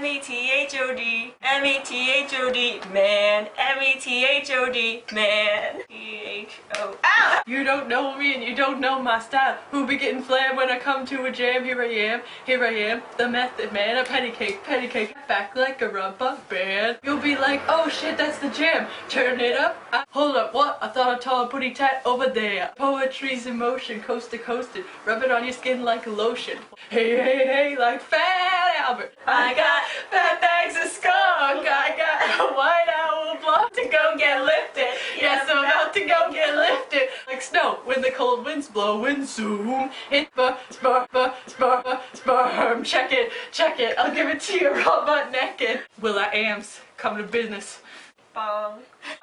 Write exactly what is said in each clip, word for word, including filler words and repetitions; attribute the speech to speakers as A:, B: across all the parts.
A: M E T H O D, M E T H O D, man, M E T H O D, man, T H O. Ow!
B: You don't know me and you don't know my style. Who be getting flamed when I come to a jam? Here I am, here I am, the method man, a petty cake, petty cake, back like a rubber band. You'll be like, oh shit, that's the jam. Turn it up. I, hold up, what? I thought I tall, pretty tight over there. Poetry's in motion, coast to coast, rub it on your skin like a lotion. Hey, hey, hey, like Fat Albert. I got fat bags of skunk. I got a white owl block to go get lifted. Yes, I'm about to go get lifted. Like snow when the cold winds blowing soon. Hit the spur, spur, spur, sperm. Check it, check it. I'll give it to you raw butt naked. Will I Ams, come to business.
A: Bong.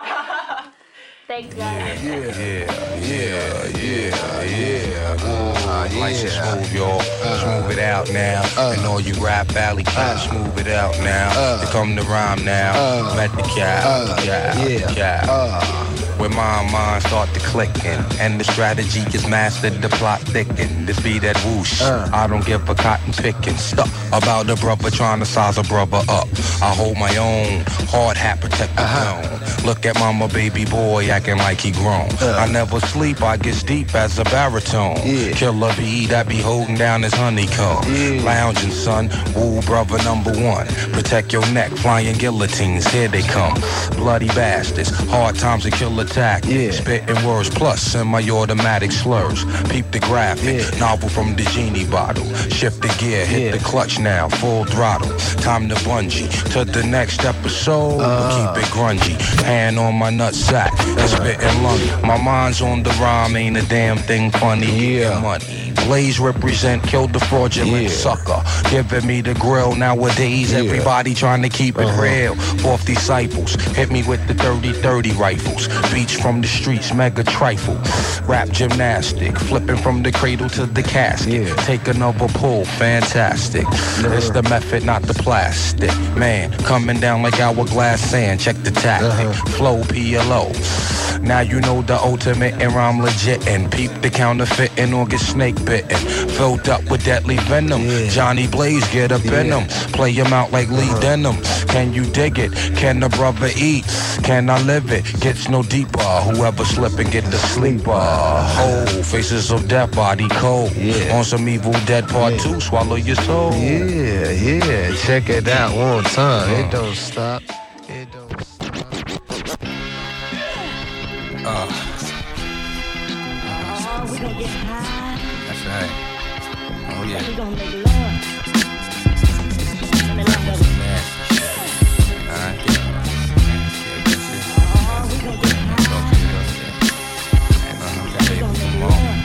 C: Thank God.
D: Yeah, yeah, yeah, yeah, yeah. Uh, nice and smooth, y'all. Smooth it out now. And all you rap valley cats, smooth it out now. They come to rhyme now. Let the cat, yeah, yeah. When my mind start to clicking, and the strategy is mastered, the plot thicken. This be that whoosh. I don't give a cotton picking. Stuck about a brother trying to size a brother up. I hold my own. Hard hat protect the throne. Look at mama, baby boy acting like he grown. I never sleep, I get deep as a baritone. Yeah. Killer bee that be holding down his honeycomb. Yeah. Lounging, son, woo, brother number one. Protect your neck, flying guillotines, here they come. Bloody bastards, hard times and kill attack. Yeah. Spitting words plus semi-automatic slurs. Peep the graphic, yeah. Novel from the genie bottle. Shift the gear, hit yeah. the clutch now, full throttle. Time to bungee to the next episode. Uh. Keep it grungy, hand on my nutsack, that's spitting lung. My mind's on the rhyme, ain't a damn thing funny. Yeah, money. Blaze represent, killed the fraudulent yeah. sucker. Giving me the grill nowadays. Yeah. Everybody trying to keep it uh-huh. real. Fourth disciples, hit me with the thirty thirty rifles. Beach from the streets, mega trifle. Rap gymnastic, flipping from the cradle to the casket. Yeah. Take another pull, fantastic. Uh-huh. It's the method, not the plastic. Man, coming down like hourglass sand. Check the tactic. Uh-huh. Flow P L O. Now you know the ultimate and rhyme legit. And peep the counterfeiting or get snake bitten. Filled up with deadly venom. Yeah. Johnny Blaze get up yeah. in them. Play him out like Lee uh-huh. Denim. Can you dig it? Can the brother eat? Can I live it? Gets no deeper. Whoever slip and get the sleeper. Oh, faces of death, body cold. Yeah. On some Evil Dead part yeah. two, swallow your soul.
E: Yeah, yeah. Check it out one time. Uh. It don't stop. It don't stop.
D: Uh.
C: Oh, we gon' get high.
D: That's right. Oh yeah.
C: We gon' make love. Let me love that.
D: Nasty shit. Alright.
C: Oh, we gon' get high. We gon' make love.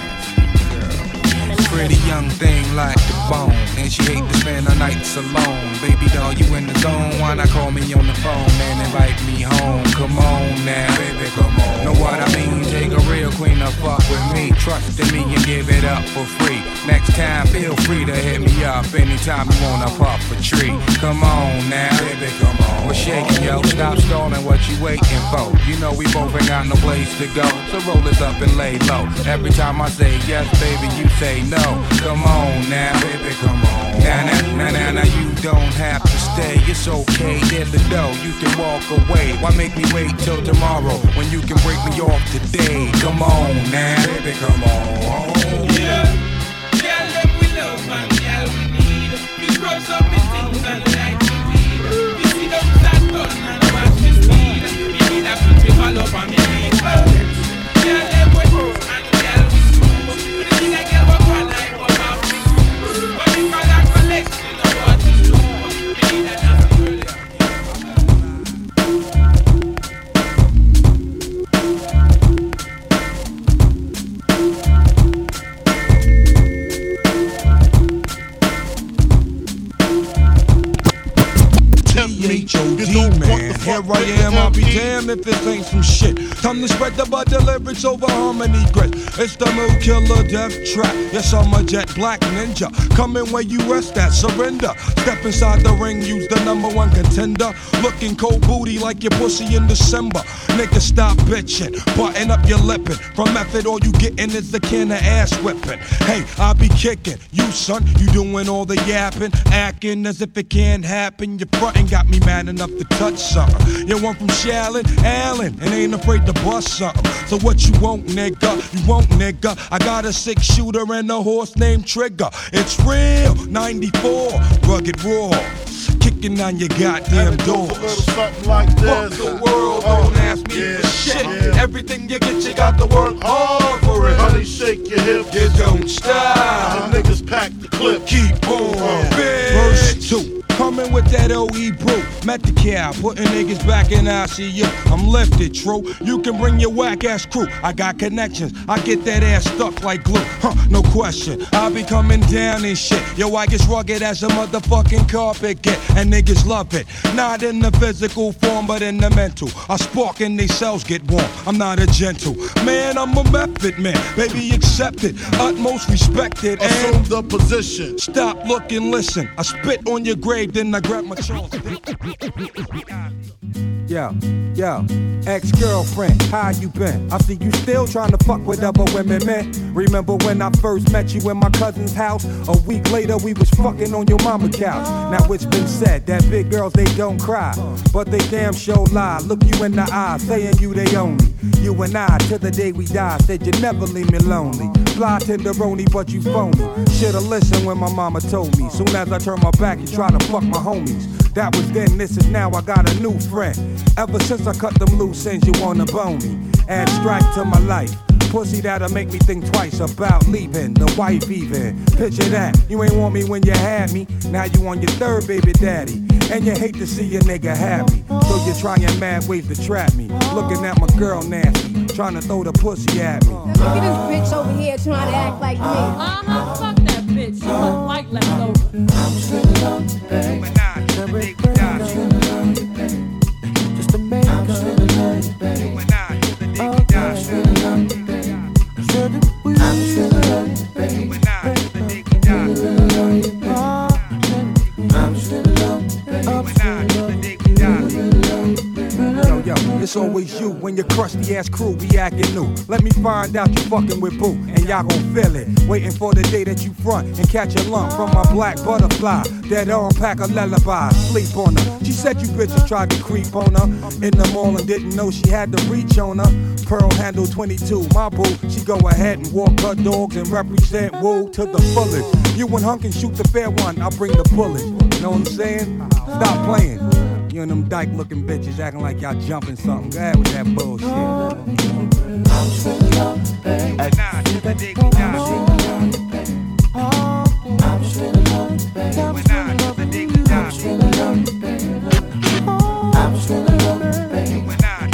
F: Pretty young thing like the bone, and she hate to spend her nights alone. Baby doll, you in the zone? Why not call me on the phone and invite me home? Come on now, baby, come on. Know what I mean? Take a real queen to fuck with me. Trust in me and give it up for free. Next time, feel free to hit me up anytime you wanna pop a tree. Come on now, baby, come on. We're shaking, yo. Stop stalling, what you waiting for? You know we both ain't got no place to go, so roll it up and lay low. Every time I say yes, baby, you say no. Come on now, baby, come on. Now, now, now, now, now, you don't have to stay. It's okay, there's the dough. You can walk away. Why make me wait till tomorrow when you can break me off today? Come on now, baby, come on.
G: Yeah, yeah, let we love, man. Yeah, we need. We grow some things and like to weed. We see them start turning and watch me speed. We need a put me all up on me. Yeah, let we move and yeah, we smooth. We need a girl walk on like one of me. But we call that collection of what we do. We need another girl.
F: T H O D, man. Here I am, I'll be be damned if this ain't some shit. Time to spread the butter lyrics over harmony grit. It's the mood killer death trap. Yes, I'm a jet black ninja. Coming where you rest at, surrender. Step inside the ring, use the number one contender. Looking cold booty like your pussy in December. Nigga, stop bitching, button up your lippin'. From method, all you gettin' is the can of ass whipping. Hey, I be kicking. You, son, you doing all the yapping, acting as if it can't happen. Your frontin' got me mad enough to touch something. You want from Shallon, Allen, and ain't afraid to bust something. So what you want, nigga? You want, nigga? I got a six shooter and a horse named Trigger. It's real, ninety-four, rugged raw. Kicking on your goddamn doors.
H: Something like this.
F: Fuck the world,
H: uh,
F: don't ask me
H: yeah,
F: for shit.
H: yeah.
F: Everything you get, you got to work hard for it.
H: Honey, shake your hips.
F: You don't stop.
H: The niggas pack the clip.
F: Keep on.
H: Uh,
F: Verse two. Coming with that O E brew. Met the cow, putting niggas back in I C U. I'm lifted, true. You can bring your whack ass crew. I got connections. I get that ass stuck like glue. Huh, no question. I be coming down and shit. Yo, I get rugged as a motherfucking carpet get. And niggas love it. Not in the physical form, but in the mental. I spark and they cells get warm. I'm not a gentle man, I'm a method man. Baby, accept it. Utmost respected.
H: Assume
F: And
H: the position.
F: stop, look, and listen. I spit on your grave, then I grab my Charles.
I: Yo, yo, ex-girlfriend, how you been? I see you still trying to fuck with other women, man. Remember when I first met you in my cousin's house? A week later, we was fucking on your mama couch. Now it's been said that big girls, they don't cry, but they damn sure lie. Look you in the eye, saying you they only. You and I, till the day we die, said you never leave me lonely. Fly tenderoni, but you phony. Shoulda listened when my mama told me. Soon as I turn my back, you try to fuck my homies. That was then, this is now, I got a new friend. Ever since I cut them loose ends, you wanna bone me. Add strike to my life. Pussy that'll make me think twice about leaving the wife even. Picture that, you ain't want me when you had me. Now you on your third baby daddy. And you hate to see a nigga happy. So you're trying mad ways to trap me. Looking at my girl nasty, trying to throw the pussy at me.
J: Look at this bitch over here trying to act like me.
B: Uh-huh, fuck that bitch. She must like leftovers.
K: I'm still love, babe. Just to make I'm still love, babe. Oh, I'm still love, babe. I'm still love, babe. I'm still love,
I: Yo, yo, it's always you when your crusty ass crew be acting new. Let me find out you fucking with boo, and y'all gon' feel it. Waiting for the day that you front and catch a lump from my black butterfly. That unpack a lullaby, sleep on her. She said you bitches tried to creep on her in the mall and didn't know she had to reach on her. Pearl handle twenty-two, my boo. She go ahead and walk her dogs and represent woo to the fullest. You and Hunk can shoot the fair one, I'll bring the bullet. Know what I'm saying? Stop playing. You and them dyke looking bitches acting like y'all jumping something. Go ahead with that bullshit.
K: I'm still love, babe. I'm still love, babe. I'm still love, babe. I'm still love, babe. I'm still love, babe.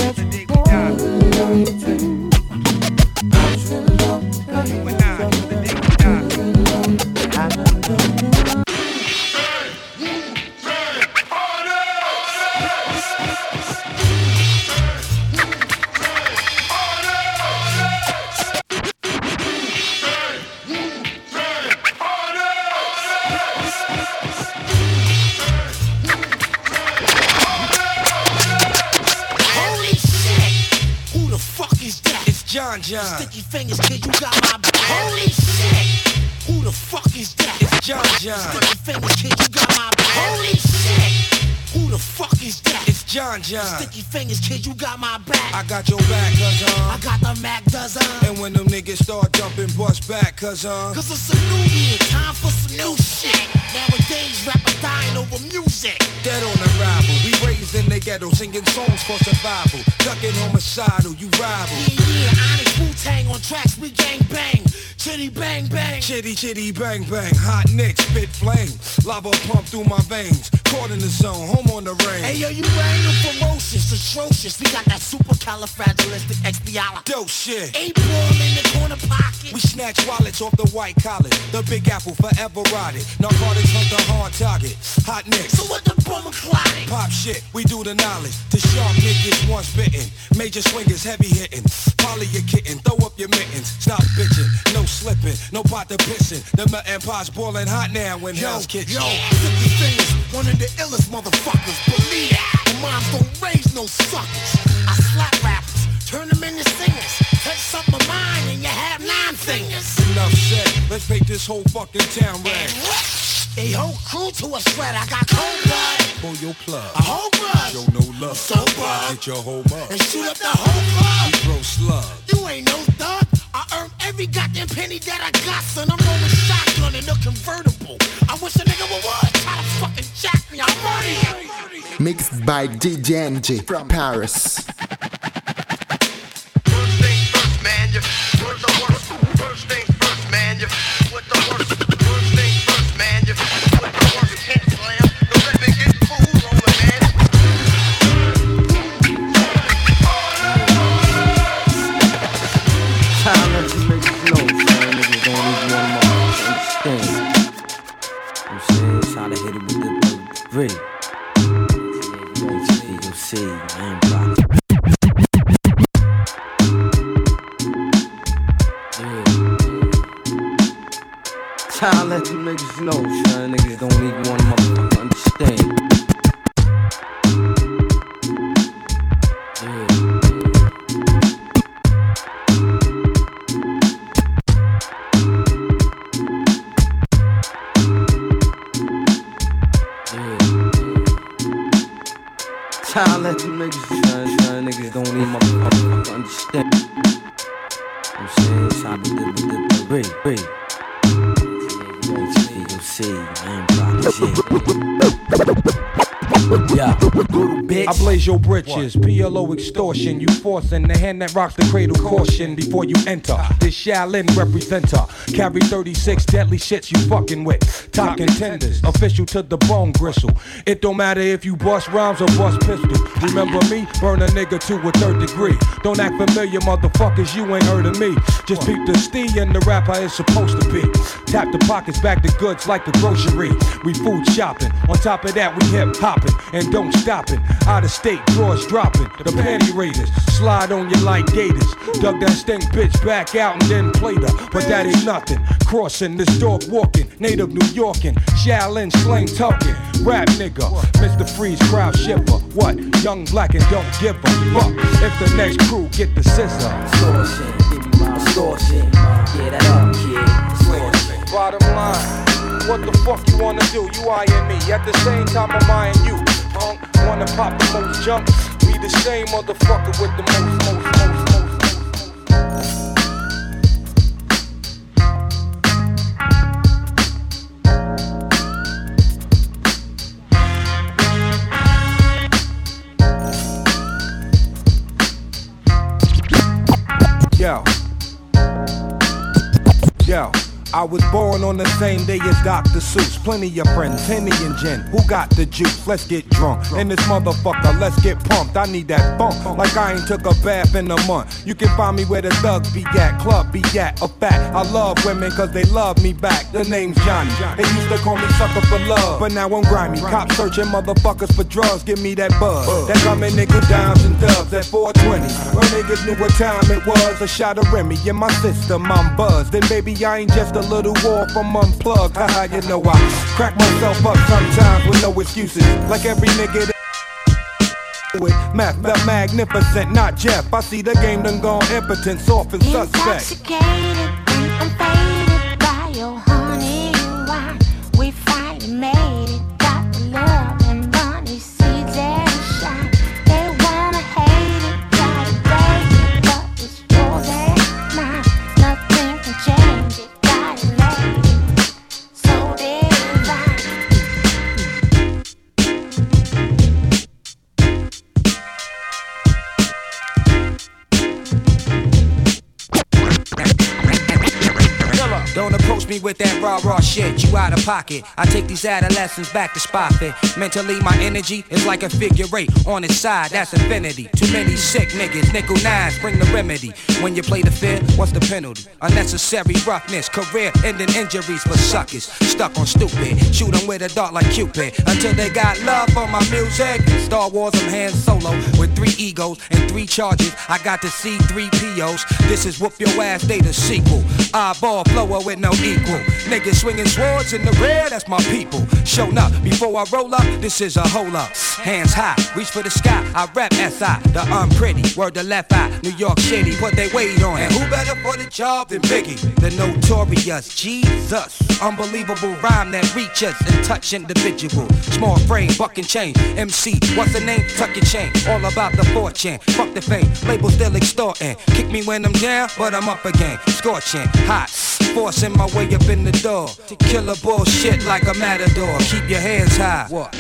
F: John John.
L: Sticky fingers, kid, you got my back. Holy shit! Who the fuck is that?
F: It's John John.
L: Sticky fingers, kid, you got my back. Holy shit! Who the fuck is that?
F: It's John John.
L: Sticky fingers, kid, you got my back.
F: I got your back, cuz uh.
L: I got the Mac dozen.
F: And when them niggas start jumping, bust back, cuz uh.
L: Cause it's a new year, time for some new shit. Nowadays, rappers dying over music.
F: Dead on arrival, we raised in the ghetto, singing songs for survival. Ducking homicidal, you rival.
L: Yeah, yeah, Onyx Wu-Tang on tracks, we gang bang. Chitty bang bang.
F: Chitty chitty bang bang. Hot nicks, spit flame. Lava pump through my veins. caught in the zone, home on the range.
L: Hey yo, you ain't ferocious, atrocious. We got that supercalifragilisticexpialidocious.
F: Dope shit.
L: Eight ball in the corner pocket.
F: We snatch wallets off the white collar. The Big Apple forever rotted. Narcotics hunt the hard target. Hot nicks.
L: So what the bummer clotting?
F: Pop shit, we do the knowledge. The sharp niggas once bitten. Major swingers heavy hitting. Polly your kitten, throw up your mittens. Stop bitching, no slipping, no pot to pissing. The melting pot's boiling hot now when
L: Yo,
F: Hell's Kitchen.
L: yo, fifty fingers, one of the illest motherfuckers. Believe that, the moms don't raise no suckers. I slap rappers, turn them into singers. Touch something of mine and you have nine fingers.
F: Enough said, let's make this whole fucking town red.
L: A whole crew to a shred, I got cold blood.
F: Pull your plug.
L: A whole blood.
F: Show no love.
L: So bug.
F: Hit your whole mug.
L: And shoot up the whole club.
F: We throw slugs.
L: You ain't no thug. I earned every goddamn penny that I got, son. I'm rolling shotgun in a convertible. I wish a nigga would what? Try to fucking jack me. I'm ready.
M: Mixed by D J N G from Paris.
N: First things first, man, you put the work. First things first, man, you put the work. First things first, man, you put the work. You can't slam, don't let me get fooled on the man.
O: Time that you make it slow, son. Niggas don't even want to understand. I'm saying, try to hit it with the gritty. You see, I ain't blocking. Try to let you niggas know, son. Niggas don't even want to motherfucker understand. Yeah. Try to let you niggas, son, son. Niggas don't even motherfucker understand. I'm saying, try to do with the break, break. You see, I ain't blocking shit. Yeah, bitch.
I: I blaze your britches, P L O extortion. You forcing the hand that rocks the cradle, caution before you enter. This Shaolin representer, carry thirty-six deadly shits you fucking with. Top contenders, official to the bone gristle. It don't matter if you bust rhymes or bust pistols. Remember me? Burn a nigga to a third degree. Don't act familiar, motherfuckers, you ain't heard of me. Just peep the stee and the rap how it's supposed to be. Tap the pockets, back the goods like a grocery. We food shopping, on top of that we hip hopping. And don't stop it, out of state, drawers dropping. The panty raiders, slide on you like gators. Dug that stink bitch back out and then played her. But that ain't nothing, crossing this dog walking. Native New Yorkin, Shaolin slang talking. Rap nigga, Mister Freeze crowd shipper. What? Young black and don't give a fuck if the next crew get the scissor.
O: Extortion, give me my extortion. Get that up, kid. Extortion.
I: Bottom line, what the fuck you wanna do? You eyeing me, at the same time I'm eyeing you. Punk, wanna pop the most junk? We the same motherfucker with the most, most, most, most, Yo. Yo. I was born on the same day as Doctor Seuss. Plenty of friends, Henny and Jen. Who got the juice? Let's get drunk. And this motherfucker, let's get pumped. I need that bump, like I ain't took a bath in a month. You can find me where the thugs be at, club be at. A fact, I love women cause they love me back. The name's Johnny. They used to call me sucker for love, but now I'm grimy. Cops searching motherfuckers for drugs. Give me that buzz. That coming nigga dimes and dubs at four twenty. When niggas knew what time it was. A shot of Remy in my system, I'm buzzed. Then baby, I ain't just a little war from unplugged. Haha, you know I crack myself up sometimes with no excuses. Like every nigga that with math, the magnificent, not Jeff. I see the game done gone impotent, soft and suspect.
P: Intoxicated, I'm faded by your honey and wine. We finally made it, got the love and money, seeds and shine. They wanna hate it, try to break it, but it's yours and mine. Nothing can change it, got it made it, so divine.
Q: with that raw, raw shit, you out of pocket. I take these adolescents back to spot fit. Mentally, my energy is like a figure eight. On its side, that's infinity. Too many sick niggas, nickel nines, bring the remedy. When you play the fair, what's the penalty? Unnecessary roughness, career-ending injuries for suckers. Stuck on stupid, shoot them with a dart like Cupid. Until they got love for my music. Star Wars, I'm Han Solo with three egos and three charges. I got to see three P Os. This is Whoop Your Ass Day, the sequel. Eyeball flower with no equal. Niggas swinging swords in the rear, that's my people. Shown up before I roll up, this is a hole up. Hands high, reach for the sky. I rap S I, the unpretty. Word the left eye, New York City, put they weight on. And who better for the job than Biggie? The notorious Jesus. Unbelievable rhyme that reaches and touch individual. Small frame, buck and chain. M C, what's the name? Tuck your chain. All about the fortune. Fuck the fame. Label still extorting. Kick me when I'm down, but I'm up again. Scorching, hot. Forcing my way up in the door. To kill a bullshit like a matador. Keep your hands high. What?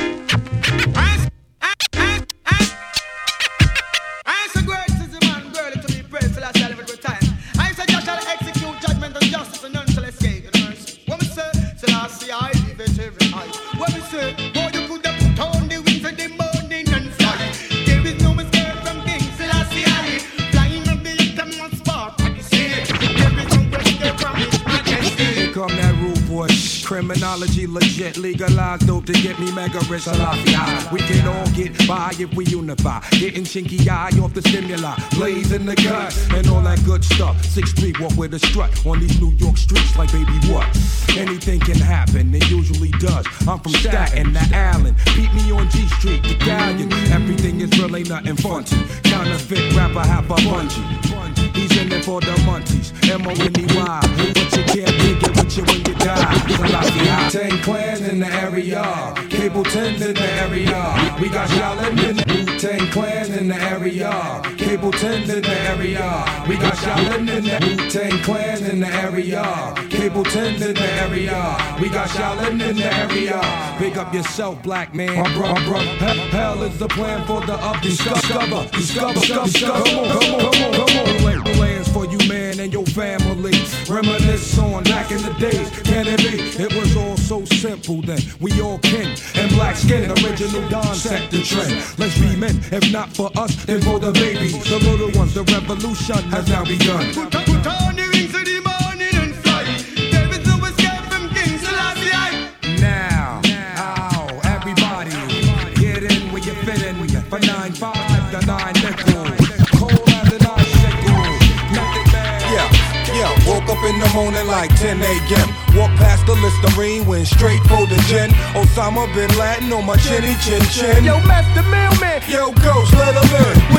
I: Criminology legit, legalized dope to get me mega rich. Salafia. We can all get by if we unify. Getting chinky eye off the stimuli, blaze in the gut, and all that good stuff. Six feet walk with a strut on these New York streets like baby what? Anything can happen, it usually does. I'm from Staten to Allen. Beat me on G Street, the Galleon. Everything is real, ain't nothing funky. Counterfeit rapper, half a bungee. He's in there for the munchies. M O N E Y. But you can't dig it with you when you die. Wu-Tang Clan in the area, Cable ten in the area. We got Shaolin in the Wu-Tang Clan in the area, Cable ten in the area. We got Shaolin in the Wu-Tang Clan in the area, Cable ten in the area. We got Shaolin in the area. Big up yourself, black man. My bro, my bro. Hell, hell is the plan for the up. Discover, discover, discover, discover. Come on, come on, come on, come on. Lands for you, man, and your family. Reminisce on back in the days. Can it be? It was all so simple then. We all kin and black skin. Original Don set the trend. Let's be men. If not for us, then for the babies. The little ones. The revolution has now begun.
L: Put, put on the rings of the morning and fly. There is no escape from King Selassie.
I: Now, now, everybody, get in where you fit in. For nine five, the nine nickel. Cold as an icicle. Method man.
F: Yeah, yeah. Woke up in the morning like ten a.m. Walked past the Listerine, went straight for the gin. Osama bin Laden on my chinny chin chin.
L: Yo, Master Mailman.
F: Yo, Ghost, let him in.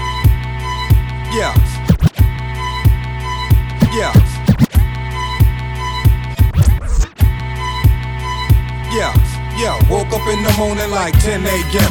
F: Yeah. Yeah. Yeah. Yeah. Woke up in the morning like ten a.m.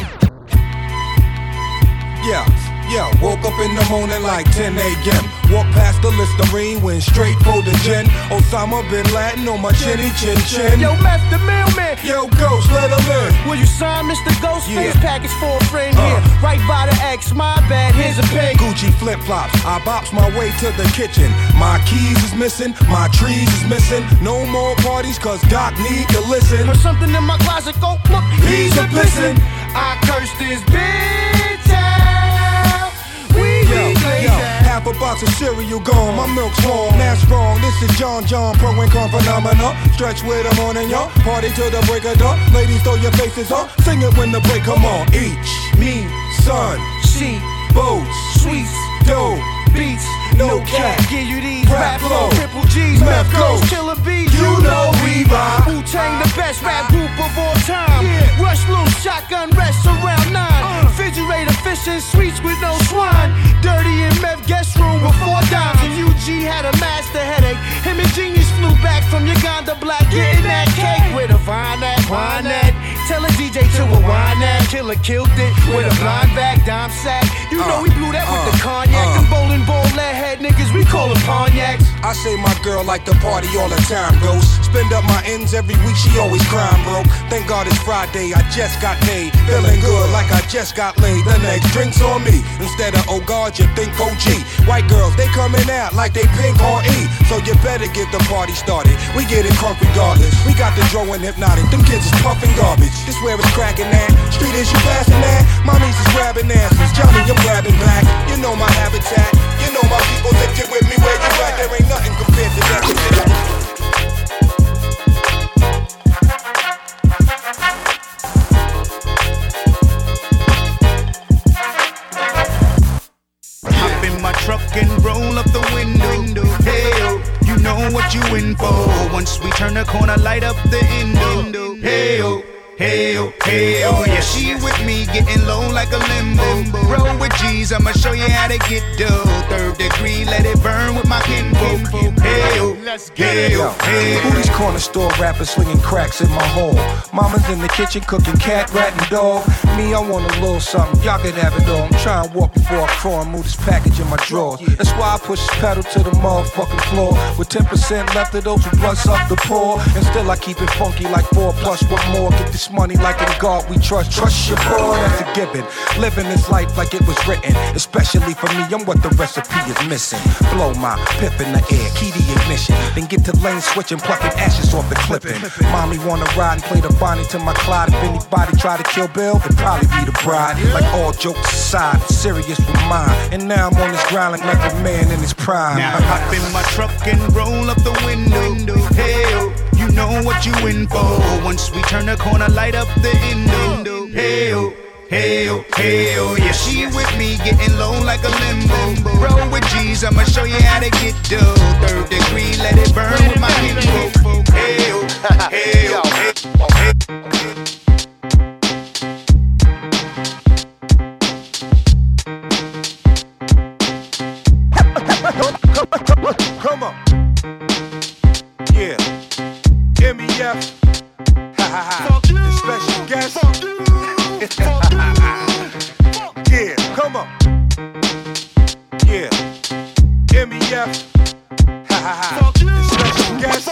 F: Yeah. Yeah, woke up in the morning like ten a.m. Walked past the Listerine, went straight for the gin. Osama bin Laden on my chinny chin chin.
L: Yo, Master Mailman.
F: Yo, Ghost, let him in.
L: Will you sign Mister Ghost?
F: Yeah.
L: Face package for a friend
F: Uh.
L: here. Right by the X, my bad, here's a pen.
F: Gucci flip flops, I bops my way to the kitchen. My keys is missing, my trees is missing. No more parties, cause Doc need to listen.
L: Or something in my closet, go look,
F: He's a pissin'.
L: I curse this bitch out.
F: Yo, yo, half a box of cereal gone, my milk's warm, that's wrong. This is John John, pro and con phenomena. Stretch with them on and y'all, party till the break of dawn. Ladies, throw your faces on, sing it when the break come on. Each, me, son,
L: she,
F: boats,
L: sweets,
F: dope,
L: beats,
F: no cap.
L: Give you these
F: Rap
L: rap
F: flow,
L: flow, triple G's,
F: meth
L: meth goes,
F: goes.
L: killer bees.
F: You know we ride.
L: Wu-Tang, the best rap group of all time.
F: Yeah.
L: Rush loose, shotgun rests around nine.
F: Uh.
L: Refrigerator, fish and sweets with no swine. Dirty in meth guest room with four dimes. And U G had a master headache. Him and Genius flew back from Uganda Black, getting that cake with a vine that, wine that. Tell a D J to a wine that. Killer killed it with a blind back, dime sack. You know
F: Uh,
L: we blew that with
F: uh,
L: the cognac.
F: uh.
L: Them bowling ball lead head niggas, we call them cognacs.
F: I say my girl like to party all the time, ghost. Spend up my ends every week, she always crying, broke.
I: Thank God it's Friday, I just got paid. Feeling good like I just got laid. The next drink's on me. Instead of oh God, you think O G. White girls, they coming out like they pink on E. So you better get the party started. We get it crunk regardless. We got the Dro and Hypnotic. Them kids is puffing garbage. This where it's cracking at. Street is you passing that. Mommies is grabbing asses. Johnny, I'm grabbing back. You know my habitat. You know my people. If you with me where you at, there ain't nothing compared to that.
R: Truck and roll up the window. Hey, oh, you know what you in for. Once we turn the corner, light up the endo. Hey, oh, hey, oh, hey, oh, yeah. She with me, getting low like a limbo. Roll with G's, I'ma show you how to get dough. Third degree, let it burn with my kinfolk. Hey, oh, let's get it. Hey,
I: who these corner store rappers slinging cracks in my home? Mama's in the kitchen cooking cat, rat, and dog. Me, I want a little something, y'all can have it all. I'm trying to walk before I crawl and move this package in my drawers. That's why I push this pedal to the motherfucking floor. With ten percent left of those who blunts up the poor. And still I keep it funky like four plus what more. Get this money like in God we trust. Trust your boy, that's a given. Living this life like it was written. Especially for me, I'm what the recipe is missing. Blow my pip in the air, key the ignition. Then get to lane switching, plucking ashes off the clipping. Mommy wanna ride and play the Bonnie to my Clyde. If anybody try to kill Bill, it'd probably be the bride. Like all jokes aside, it's serious with mine. And now I'm on this ground like a man in his prime.
R: Now hop in my truck and roll up the window. Hey, oh, you know what you in for. Once we turn the corner, light up the endo. Hey, oh, hey, oh, hey, oh, yeah. She with me, getting low like a limbo. Roll with G's, I'ma show you how to get dough. Third degree, let it burn with my kinfolk. Hey, oh, hey, oh, hey, oh, hey.
I: Come on. Yeah. M E F. Ha ha ha. The special guest. Yeah, come on. Yeah. M E F. Ha ha ha. The special guest.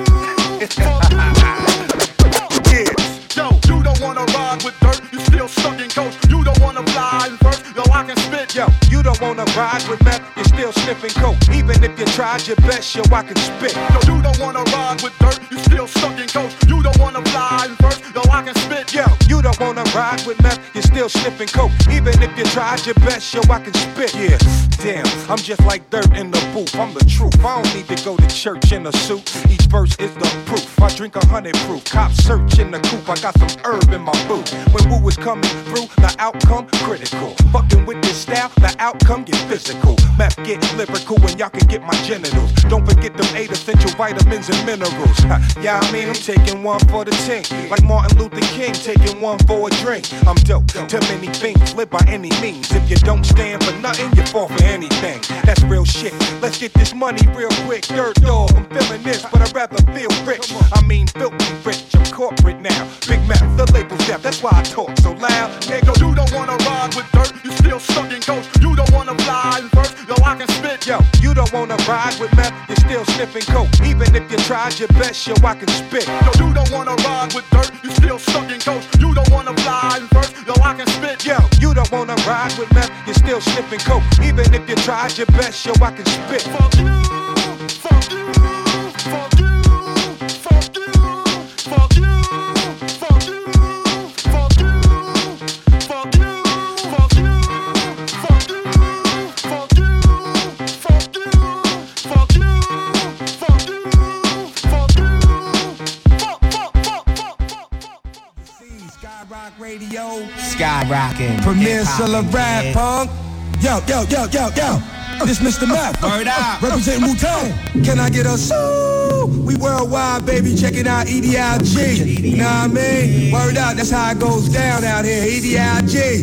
H: Yeah. Yo, you don't wanna ride with dirt, you still stuck in coach. You don't wanna fly in first, yo, I can spit.
I: Yo, you don't wanna ride with meth, you're still sniffing coke. Even if you tried your best, yo, I can spit.
H: Yo, you don't wanna ride with dirt, you still stuck in coach. You don't wanna fly in first, yo, I can spit.
I: Yo, you don't wanna ride with meth, you're still sniffing coke. Even if you tried your best, yo, I can spit. Yeah, damn, I'm just like dirt in the booth. I'm the truth. I don't need to go to church in a suit. Each verse is the proof. I drink a hundred proof. Cops search in the coop. I got some herb in my boot. When woo is coming through, the outcome critical. Fucking with this style, the outcome get physical. Meth get lyrical and y'all can get my genitals. Don't forget them eight essential vitamins and minerals. Ha, yeah, I mean I'm taking one for the team. Like Martin Luther King taking one for a drink. I'm dope. Too many things live by any means. If you don't stand for nothing, you fall for anything. That's real shit. Let's get this money real quick. Third dog, I'm feeling this, but I'd rather feel rich. I mean filthy rich. I'm corporate now. Big mouth, the label's deaf. That's why I talk so loud.
H: Nigga, you don't wanna ride with dirt, you still stuck in coach. You don't wanna fly in first, yo, I can spit.
I: Yo, you don't wanna ride with meth, you're still sniffing coke. Even if you tried your best, yo, I can spit.
H: Yo, you don't wanna ride with dirt, you still stuck in coach. You don't wanna fly in first, yo, I can spit.
I: Yo, you don't wanna ride with meth, you're still sniffing coke. Even if you tried your best, yo, I can spit.
H: Fuck you, fuck you, fuck you, fuck you, fuck you, fuck you, fuck you, fuck you, fuck you, fuck you, fuck you, fuck you, fuck you, fuck you, fuck you, fuck, fuck, fuck, fuck, fuck, fuck.
I: Skyrock Radio.
Q: Skyrockin'.
I: Premier Seller Rap Punk. Yo, yo, yo, yo, yo. This Mister Meth.
Q: Word up.
I: Representing Wu-Tang. Can I get a so? We worldwide, baby. Check it out. E D I G. You know what I mean? Word up. That's how it goes down out here. E D I G.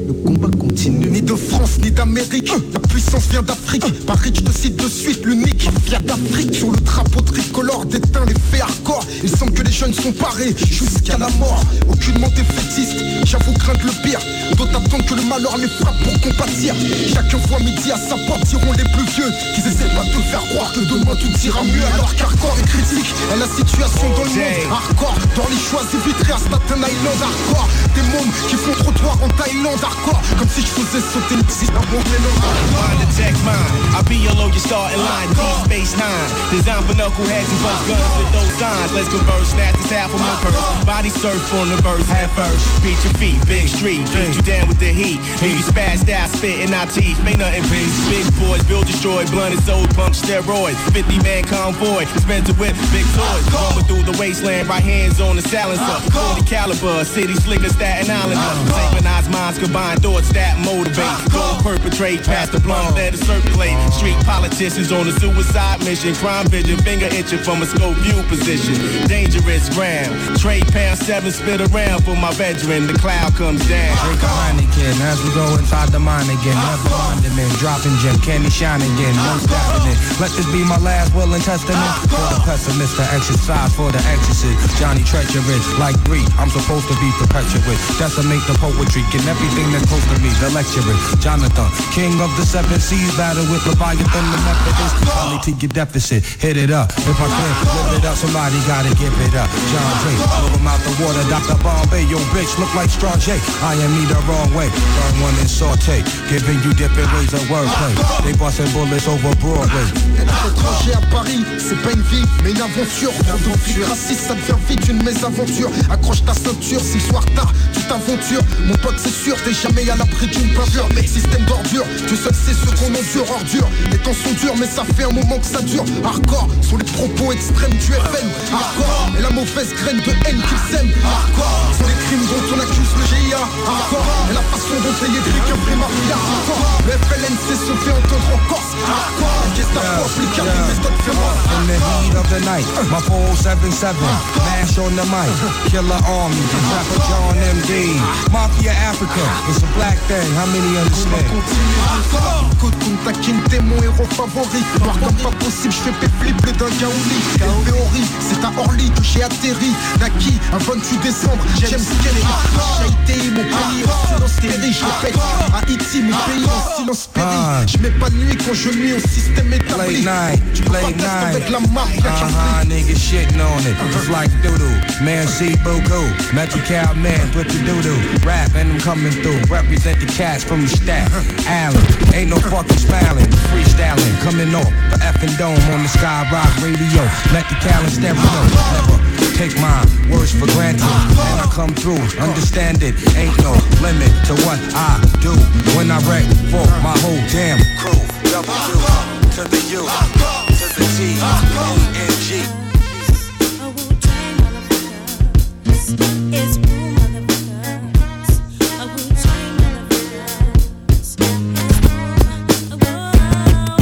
S: le combat continue. Ni de France, ni d'Amérique, la puissance vient d'Afrique. Paris, je te cite de suite, l'unique vient d'Afrique. Sur le drapeau tricolore déteint les faits hardcore. Il semble que les jeunes sont parés jusqu'à la mort. Aucunement défaitiste, j'avoue craindre le pire. D'autres attendent que le malheur les frappe pour compatir. Chacun voit midi à sa porte, diront les plus vieux qu'ils essaient pas de te faire croire que demain tout ira mieux. Alors qu'hardcore est critique à la situation dans le monde. Hardcore, dans les choix éviterait à Staten Island. Hardcore, des mômes qui font trottoir en Thaïlande. Hardcore, comme si je faisais sauter une petite dans mon mélange.
T: Mind the tech mine, I'll be your low, your starting line. Deep Space Nine, designed for knuckleheads and bust guns with those signs. Let's converse, snatch this half of my purse. Body surf on the verse, head first. Beat your feet, big street, beat you down with the heat. And you spazzed out, spit in our teeth. May nothing peace. Big boys, build, destroy, blunt and soul, pump steroids. fifty man convoy, spent to whip, big toys. Going through the wasteland, right hands on the silencer. forty caliber, city slicker, Staten Island. Synchronized minds, combine thoughts that motivate. Don't perpetrate, pass the blunt, let it circulate. Street politicians on a suicide mission. Crime vision, finger itching from a scope view position. Dangerous ground. Trade pound seven, spit around for my veteran. The cloud comes down.
Q: Drink a Heineken as we go inside the mine again. Never mind him in, dropping gem, can he shine again? No stopping it. Let this be my last will and testament. For the pessimist to exercise for the exorcist. Johnny treacherous, like Greek, I'm supposed to be perpetuate. Decimate the poetry, get everything that's close to me. The lecturer, Jonathan, king of the seven seas, battle with Leviathan, the Methodist. Only to your deficit, hit it up. If I can, live it up, somebody gotta give it up. John Dre, blow him out the water, Doctor Bombay, yo bitch, look like Strong J. I am me the wrong way, burn one and saute, giving you different ways of wordplay. They busting bullets over Broadway.
S: Être étranger à Paris, c'est pas une vie, mais une aventure. Trop de raciste, ça devient vite une mésaventure. Accroche ta ceinture, si le soir tard, tu t'aventures. Mon pote, c'est sûr, t'es jamais à l'abri d'une peinture. Mais système d'ordure, Dieu seul sait ce qu'on endure. Ordure, les temps sont durs, mais ça fait un moment que ça dure. Hardcore, sont les propos extrêmes du F M. Hardcore, et la mauvaise graine de haine qu'ils sèment. Hardcore, sont les crimes dont on accuse le G I A. Hardcore, et la façon dont les yétriques un vrai mafia. Hardcore, le F L N C se fait entendre en Corse. Hardcore, qu'est-ce que t'as appliqué à des méthodes féroces.
Q: In the heat of the night, my four seven seven, mash on the mic, killer army, rapper John M D, Mafia Africa, it's a black thing, how many understand?
S: Côte Kunta Kinte, mon héros favori. Voir comme pas possible, je fais péflip le d'un gaouli. L V Ori, c'est à Orly que j'ai atterri. Naki, un vingt-huit décembre, James Kelly. Haïti, mon pays en silence péri. Je répète, Haïti, mon pays en silence péri. Je m'épanouis quand je nuis au système établi.
Q: Late night, late night,
S: avec la mafia.
Q: uh-huh, niggas shitting on it, just like doodoo. Man, see Boko, Magic Cow Man, put the doodoo. Rap and I'm coming through, represent the cats from the stack. Allen, ain't no fucking smiling, freestyling, coming off the effing dome on the Skyrock radio. Let the Callan stereo, never take my words for granted. And I come through, understand it, ain't no limit to what I do when I wreck for my whole damn crew. W to the U, to the T, N N G.
P: It's Wu motherfuckers. A Wu-Tang motherfuckers. It's Wu, Wu.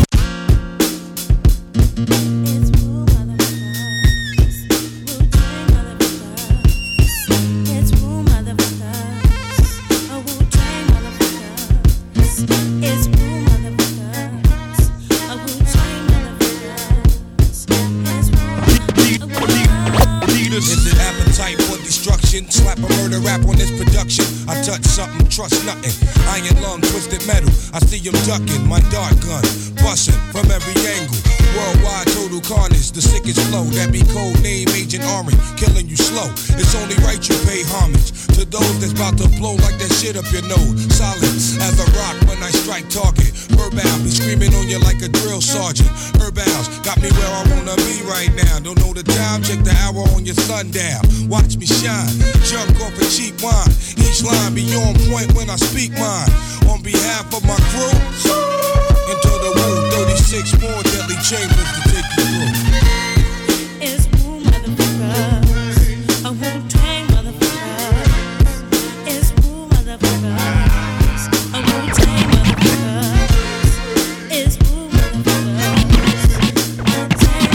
P: It's Wu motherfuckers. Wu-Tang motherfuckers. It's Wu motherfuckers. A Wu-Tang motherfuckers. It's Wu motherfuckers. A Wu-Tang motherfuckers. It's Wu, Wu.
U: Is it appetite for destruction? Slap a murder rap on this production. I touch something, trust nothing. Iron lung, twisted metal. I see him ducking. My dart gun, busting from every angle. Worldwide total carnage, the sickest flow. That be code name Agent Orange, killing you slow. It's only right you pay homage to those that's about to blow like that shit up your nose. Solid as a rock when I strike target. Herbal be screaming on you like a drill sergeant. Herbals got me where I wanna be right now. Don't know the time, check the hour on your sundial. Watch me shine, junk off a cheap wine. Each line be on point when I speak mine. On behalf of my crew, into the Wu, thirty-six more deadly chambers to take you through.
P: It's Wu motherfuckers. A Wu-Tang motherfuckers. It's Wu motherfuckers. A Wu-Tang motherfuckers. It's Wu motherfuckers. Wu-Tang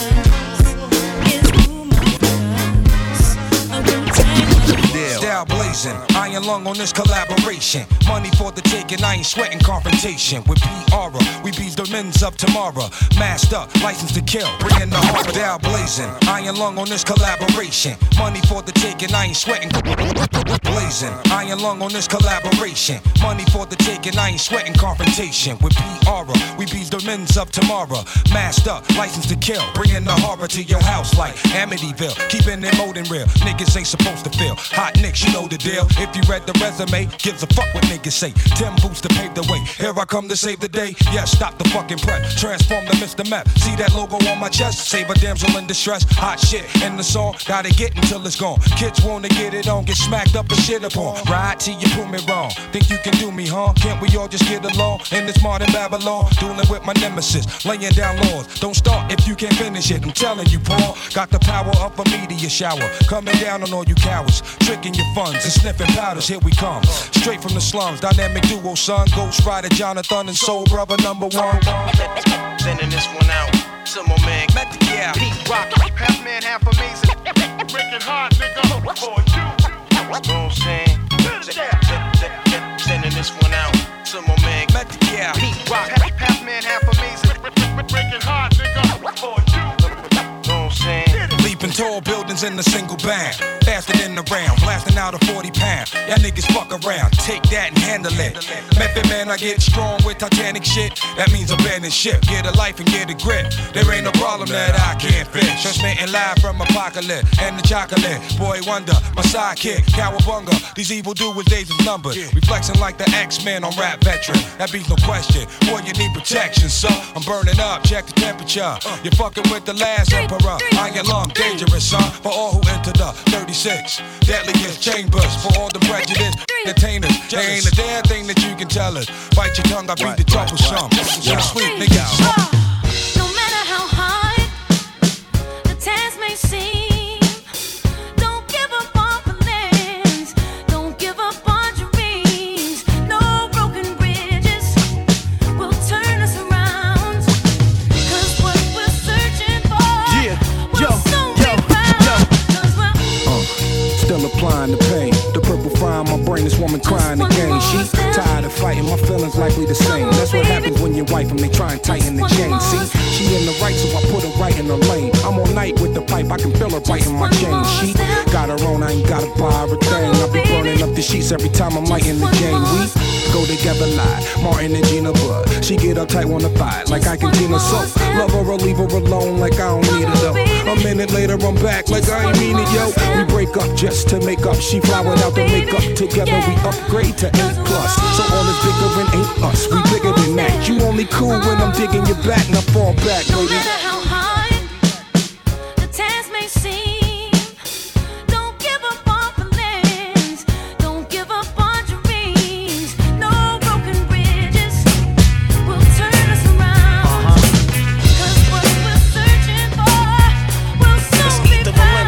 P: motherfuckers. It's Wu motherfuckers. A Wu-Tang motherfuckers.
Q: Style blaze
U: blazing. Iron lung on this collaboration. Money for the taking, I ain't sweating confrontation. With P R, we beat the men's up tomorrow. Masked up, license to kill, bringing the harbor down blazing. Iron lung on this collaboration. Money for the taking, I ain't sweating blazing. Iron lung on this collaboration. Money for the taking, I ain't sweating confrontation. With P R, we beat the men's up tomorrow. Masked up, license to kill, bringing the harbor to your house like Amityville. Keeping it molding real, niggas ain't supposed to feel. Hot nicks, you know the deal. If you read the resume, gives a fuck what niggas say. Tim Boots to pave the way. Here I come to save the day. Yeah, stop the fucking prep. Transform to Mister Map. See that logo on my chest? Save a damsel in distress. Hot shit in the song. Gotta get until it's gone. Kids wanna get it on, get smacked up and shit upon. Ride till you prove me wrong. Think you can do me, huh? Can't we all just get along in this modern Babylon? Dueling with my nemesis, laying down laws. Don't start if you can't finish it. I'm telling you, Paul. Got the power of a meteor shower. Coming down on all you cowards. Tricking your funds and sniffing powders. Here we come. Straight from the slums. Dynamic duo, son. Ghost Rider, Jonathan, and Soul Brother number one.
N: Sending this one out to my man, yeah, Pete Rock, half man, half amazing. Breaking hard, nigga, for you. You know what I'm saying? Sending this one out to my man, yeah, Pete Rock, half man, half amazing. Breaking hard, nigga, for you. You know what I'm saying?
U: Leaping tall buildings in a single bang. Faster than the round, blasting out a forty pound. Y'all niggas fuck around, take that and handle it. Method man, I get strong with Titanic shit. That means abandon ship, get a life and get a grip. There ain't no problem that I can't fix. Transmitting live from Apocalypse and the chocolate. Boy Wonder, my sidekick, Cowabunga. These evil doers, days is numbered. Reflexing like the X-Men on Rap Veteran. That beats no question, boy you need protection, son. I'm burning up, check the temperature. You're fucking with the last emperor. Iron lung, dangerous, son. For all who enter the thirty-six deadliest chambers. For all the prejudiced entertainers. There ain't a damn thing that you can tell us. Bite your tongue, I beat the troublesome. So sweet, niggas.
P: No matter how hard the task may seem, don't give up on plans, don't give up on dreams. No broken bridges will turn us around. 'Cause what we're searching for,
L: Yeah,
P: will
L: yo,
P: soon
L: yo,
P: be found. 'Cause we're
L: Uh, still applying the pain. The purple fry in my brain, this woman crying again. She tired of fighting, my feelings likely the same. That's what happens when you wife them, they try and tighten the chain. See, she in the right, so I put her right in the lane. I'm all night with the pipe, I can feel her biting my chain. She got her own, I ain't gotta buy her a thing. I be burning up the sheets every time I'm lighting the game. We go together like Martin and Gina Bud. She get uptight, wanna fight like I can Gina so. Love her or leave her alone like I don't need it though. A minute later I'm back like I ain't mean it, yo. We break up just to make up. She fly without the makeup. Together we upgrade to eight plus. So all this bickering ain't us. We bigger than that. You only cool when I'm digging your back and I fall back,
P: no
L: lady.
P: matter how hard the task may seem, don't give up on plans, don't give up on dreams. No broken bridges will turn us around. 'Cause what we're searching for will soon be found.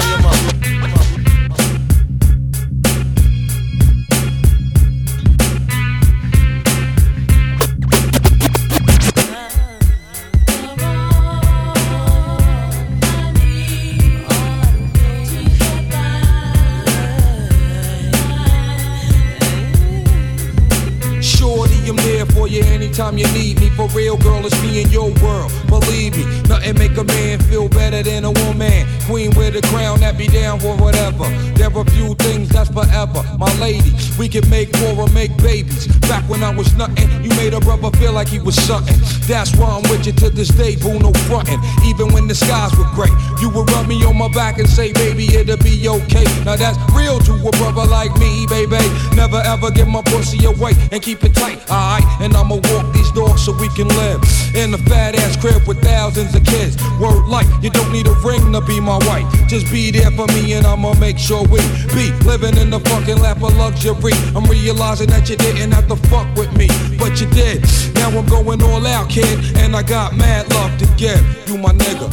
U: Shorty, I'm there for you anytime you need me. For real, girl, it's me in your world. Believe me, nothing make a man feel better than a woman. Queen with a crown that be down for whatever. There are few things that's forever. My lady, we can make war or make babies. Back when I was nothing, you made a brother feel like he was something. That's why I'm with you to this day, boo, no frontin'. Even when the skies were gray, you would rub me on my back and say, baby, it'll be okay. Now that's real to a brother like me, baby. Never ever give my pussy away and keep it tight, alright? And I'ma walk these dogs so we can live in a fat ass crib with thousands of kids. Word life, you don't need a ring to be my wife. Just be there for me and I'ma make sure we be living in the fucking lap of luxury. I'm realizing that you didn't have to fuck with me, but you did. Now I'm going all out, kid, and I got mad love to give. You my nigga.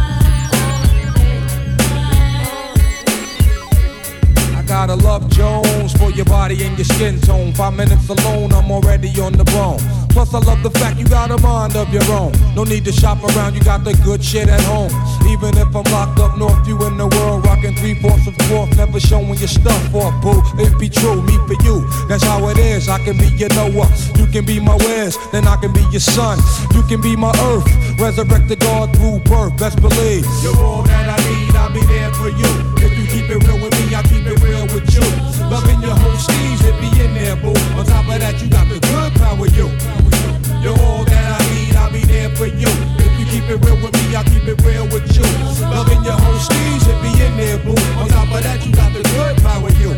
U: Gotta love Jones.
F: bones for your body and your skin tone. Five minutes alone, I'm already on the bone. Plus I love the fact you got a mind of your own. No need to shop around, you got the good shit at home. Even if I'm locked up north, you in the world rocking three-fourths of fourth, never showing your stuff off, boo. It be true, me for you, that's how it is. I can be your Noah, you can be my Wes, then I can be your son. You can be my earth, resurrect the God through birth, best believe. You're all that I need, I'll be there for you. If you keep it real with me, I'll keep it real with you. Loving your whole steez, it be in there, boo. On top of that, you got the good power, you. You're all that I need, I'll be there for you. If you keep it real with me, I'll keep it real with you. Loving your whole steez, it be in there, boo. On top of that, you got the good power, you.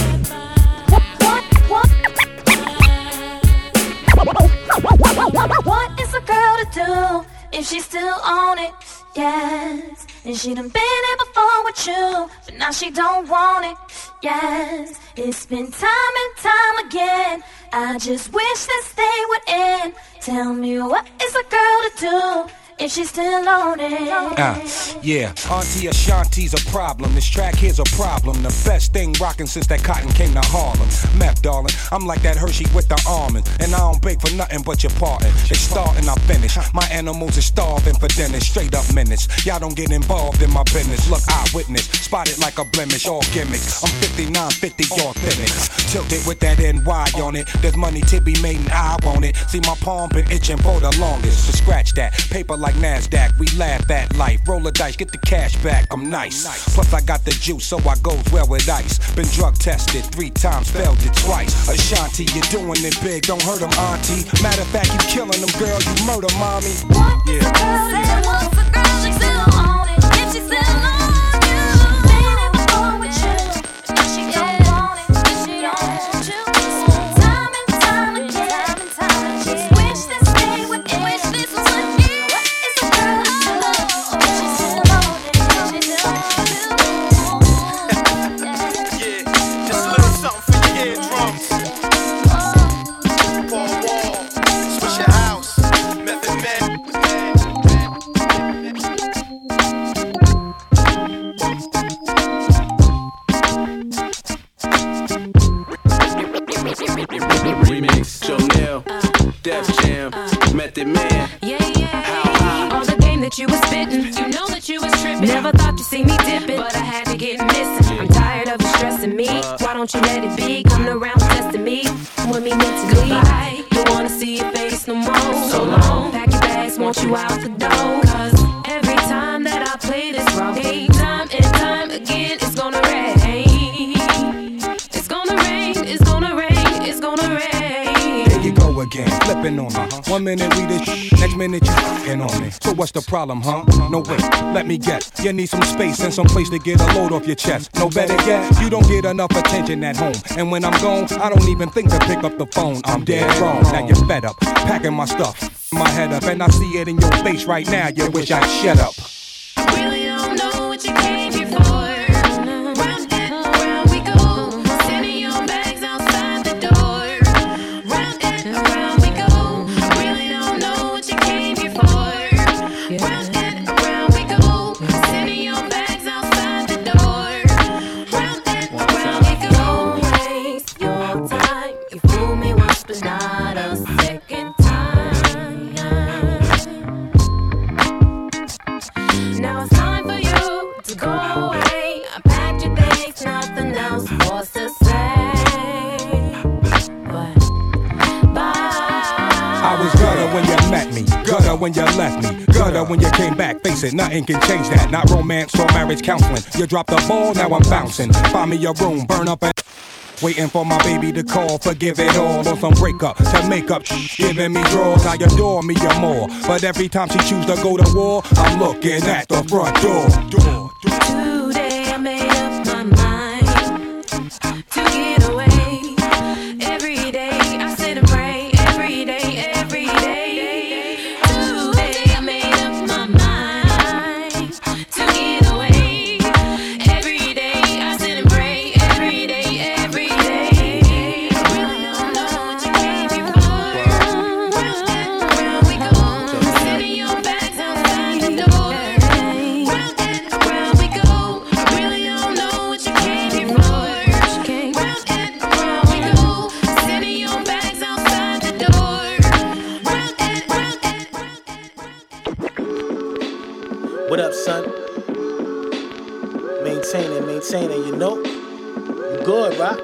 A: What is a girl to do if she's still on it? Yes. And she done been here before with you, but now she don't want it. Yes. It's been time and time again. I just wish this day would end. Tell me, what is a girl to do if she's still on it?
Q: Uh, yeah, Auntie Ashanti's a problem. This track here's a problem. The best thing rockin' since that cotton came to Harlem. Meth, darling, I'm like that Hershey with the almond. And I don't bake for nothing but your parting. They start and I finish. My animals are starving for dinner. Straight up minutes. Y'all don't get involved in my business. Look, eyewitness. Spotted like a blemish. All gimmicks. I'm fifty-nine fifty, authentic. Tilted with that N Y on it. There's money to be made and I want it. See, my palm been itching for the longest. So scratch that. Paper like NASDAQ, we laugh at life. Roll a dice, get the cash back, I'm nice. Plus I got the juice, so I goes well with ice. Been drug tested three times, failed it twice. Ashanti, you're doing it big, don't hurt them, auntie. Matter of fact, you killing them, girl, you murder mommy. Yeah.
A: What's a girl, she's still on it? If she's still on you, been here before with you, but she don't want it, she don't want you. Time and time again, just wish this day would end. Wish this was what it is.
V: Remix, Jonelle, Def Jam, Method Man.
W: Yeah, yeah. All the game that you was spitting, you know that you was tripping. Never thought you'd see me dipping, but I had to get missing. I'm tired of you stressing me. Why don't you let it be? Coming around testing me. Want me mentally? Goodbye. Don't wanna see your face no more. So long. Pack your bags, want you out the door. Cause every time that I play this wrong game, time and time again, it's gonna rain. It's gonna rain, it's gonna rain, it's gonna rain.
F: There you go again, flipping on me. Uh-huh. One minute we this sh- next minute you f***ing on me. So what's the problem, huh? No wait, let me guess. You need some space and some place to get a load off your chest. No better yet, you don't get enough attention at home. And when I'm gone, I don't even think to pick up the phone. I'm dead wrong, now you're fed up, packing my stuff, my head up, and I see it in your face right now. You wish I'd shut up.
W: I really don't know what you came here for. Round and around we go, sending your bags outside the door. Round and around we go, I really don't know what you came here for. Round and around we go, sending your bags outside the door. Round and around we go. Don't waste your time. You fool me once, but not a second time. Now it's time for you to go away. I packed your bags, nothing else for to say. But bye.
F: I was gutter when you met me, gutter when you left me, gutter when you came back. Face it, nothing can change that. Not romance or marriage counseling. You dropped the ball, now I'm bouncing. Find me a room, burn up and waiting for my baby to call, forgive it all. On some breakup to make up, giving me draws. I adore me or more, but every time she choose to go to war, I'm looking at the front door. door, door.
W: Today I made up my mind to get away. Every day I sit and pray. Every day, every day. Today I made up my mind to get away. Every day I sit and pray. Every day, every day. I really don't know what you came here for. Round and around we go, sending your bags outside the door. Round and around we go.
C: And you know, you good, right?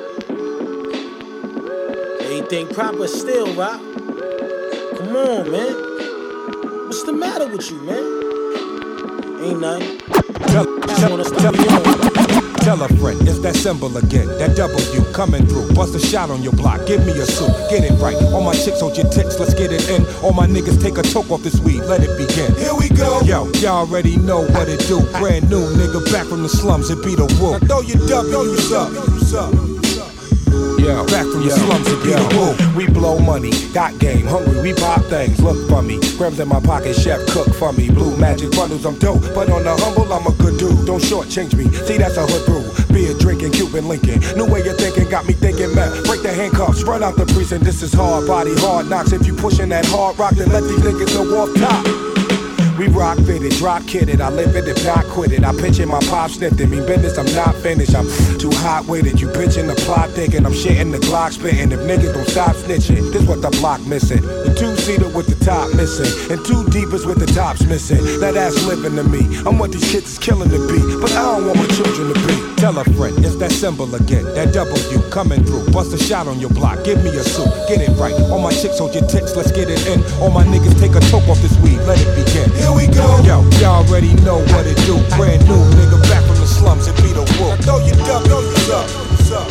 C: Everything proper still, right? Come on, man. What's the matter with you, man? Ain't nothing.
I: Tell, tell, tell, tell a friend, it's that symbol again. That W coming through. Bust a shot on your block. Give me a suit. Get it right. All my chicks hold your tits. Let's get it in. All my niggas take a toke off this weed. Let it begin. Here we go. Yo, y'all already know what it do. Brand new nigga back from the slums. It be the woo. Now throw your W's up. Yeah, back from the yeah. slums to yeah. the woo. We blow money, got game, hungry, we pop things, look for me. Grams in my pocket, chef cook for me. Blue magic bundles, I'm dope, but on the humble, I'm a good dude. Don't shortchange me, see that's a hood brew. Beer drinking, Cuban Lincoln. New way of thinking got me thinking, man. Break the handcuffs, run out the precinct. This is hard body, hard knocks. If you pushing that hard rock, then let these niggas know off top. We rock fitted, drop kidded, I live it if not quit it. I pitch it, my pop sniffed it. Mean business, I'm not finished. I'm too hot with it. You pitching the plot thinking, I'm shitting the Glock spitting. If niggas don't stop snitching, this what the block missing. The two-seater with the top missing, and two deepers with the tops missing. Now that's living to me. I'm what these kids is killing to be, but I don't want my children to be. Tell a friend, it's that symbol again. That W coming through. Bust a shot on your block. Give me a suit. Get it right. All my chicks hold your tits. Let's get it in. All my niggas take a toke off this weed. Let it begin. Here we go. Yo, y'all already know what it do. Brand new nigga back from the slums. It be the woo. Now throw your W's up. What's up?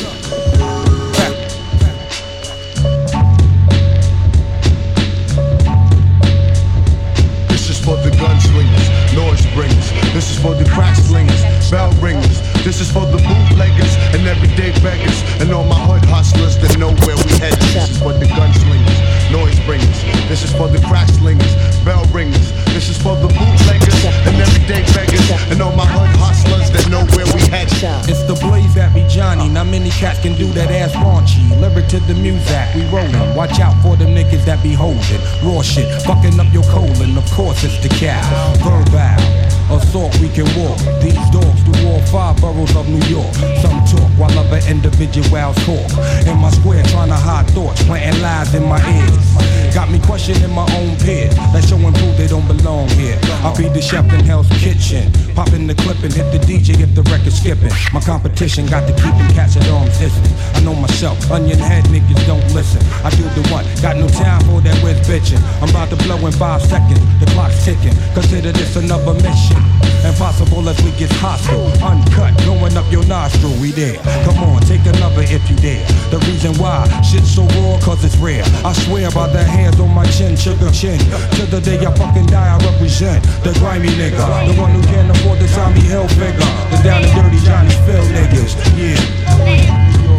S: This is for the gunslingers, noise bringers. This is for the crack slingers, bell ringers. This is for the bootleggers and everyday beggars, and all my hood hustlers that know where we headed. This is for the gunslingers, noise bringers. This is for the crack slingers, bell ringers. This is for the bootleggers and everyday beggars, and all my hood hustlers that know where we headed.
Q: It's the blaze that be Johnny. Not many cats can do that ass raunchy. Lyric to the music, we rollin'. Watch out for them niggas that be holding raw shit, fucking up your colon. Of course it's the cow. Verbal assault, we can walk. These dogs do all five boroughs of New York. Some talk while other individuals talk. In my square, trying to hide thoughts, planting lies in my ears. Got me questioning my own peers. That show and prove they don't belong here. I be the chef in Hell's Kitchen. Pop in the clip and hit the D J if the record's skipping. My competition got to keep them cats at arm's distance. I know myself, onion head niggas don't listen. I do the one, got no time for that with bitching. I'm about to blow in five seconds, the clock's ticking. Consider this another mission. Impossible as we get hostile. Uncut, going up your nostril, we there. Come on, take another if you dare. The reason why shit's so raw, cause it's rare. I swear by the hands on my chin, sugar chin. To the day I fucking die, I represent the grimy nigga. The one who can't afford the Tommy Hilfiger. The down and dirty Johnny Phil niggas, yeah.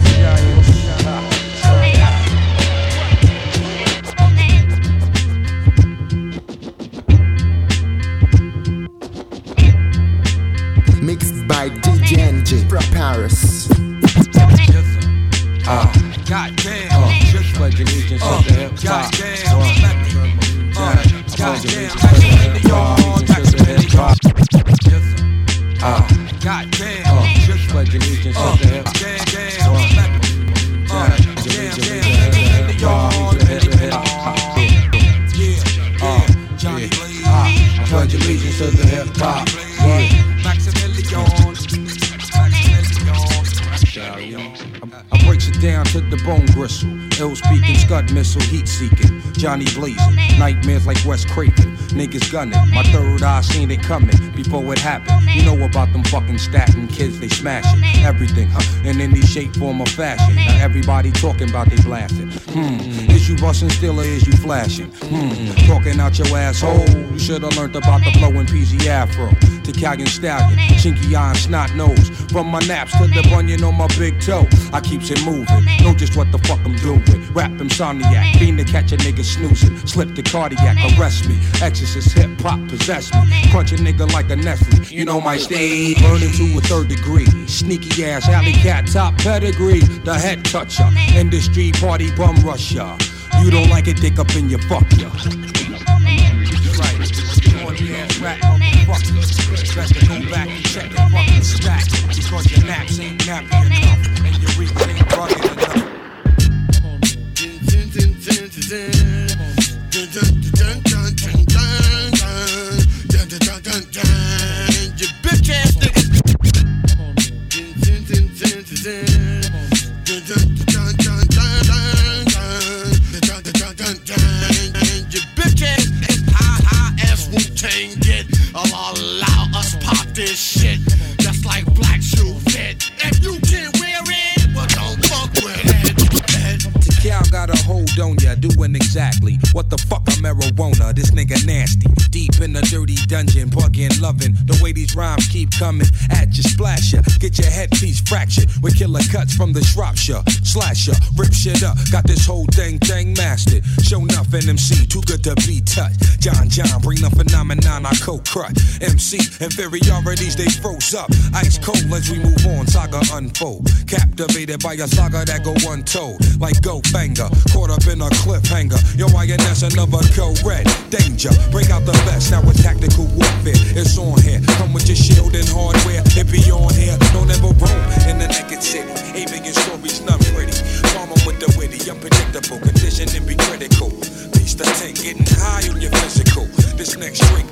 M: Mixed by D J N J from Paris.
Q: Uh, goddamn, uh, just like allegiance uh, to the hip hop. Uh, goddamn, uh, just like allegiance to the hip hop. Pledge allegiance to the hip hop. I breaks it down to the bone gristle. Ill speaking, scud missile, heat seeking. Johnny blazing, nightmares like Wes Craven. Niggas gunning, my third eye seen it coming before it happened. You know about them fucking statin kids, they smashing everything, huh? In any shape, form, or fashion. Now everybody talking about they blasting. Hmm, is you busting still or is you flashing? Hmm, talking out your asshole. You should've learned about the flowing P Z Afro. Italian stallion, chinky eye and snot nose. From my naps to the bunion on my big toe, I keeps it moving. Know just what the fuck I'm doing. Rap insomniac, fiend to catch a nigga snoozing. Slip the cardiac, arrest me. Exorcist hip hop possess me. Crunch a nigga like a Nestle. You know my stage. Burning to a third degree. Sneaky ass alley cat top pedigree. The head toucher. Industry party bum rusher. You don't like it, dick up in your fuck ya. Ass rat, motherfucker. Better go back and check the fucking stack. Because your naps ain't nappy enough. And your reach ain't rugged enough. You bitch ass nigga.
H: Your bitch ass high, high ass Wu-Tang get. I'll allow us pop this shit just like black shoe fit. If you can't wear it, well don't fuck with it.
F: Cal got a hold on ya, doing exactly what the fuck a marijuana. This nigga nasty, deep in the dirty dungeon, bugging, loving the way these rhymes keep coming at you, splash ya, get your headpiece fractured with killer cuts from the Shropshire, slasher, rip shit up, got this whole thing thing mastered. Show nothing M C, too good to be touched. John John, bring the phenomenon, I cold cut. M C inferiorities they froze up, ice cold as we move on, saga unfold. Captivated by a saga that go untold, like go banger, caught up in a cliffhanger. Yo, I and that's another co-red danger. Bring out the best, now with tactical warfare. It's on here, come with your shield and hardware. It be on here, don't ever roam in the naked city. Ain't making stories, none pretty. Farmer with the witty, unpredictable, conditioning be critical. Piece the tank, getting high on your physical. This next drink.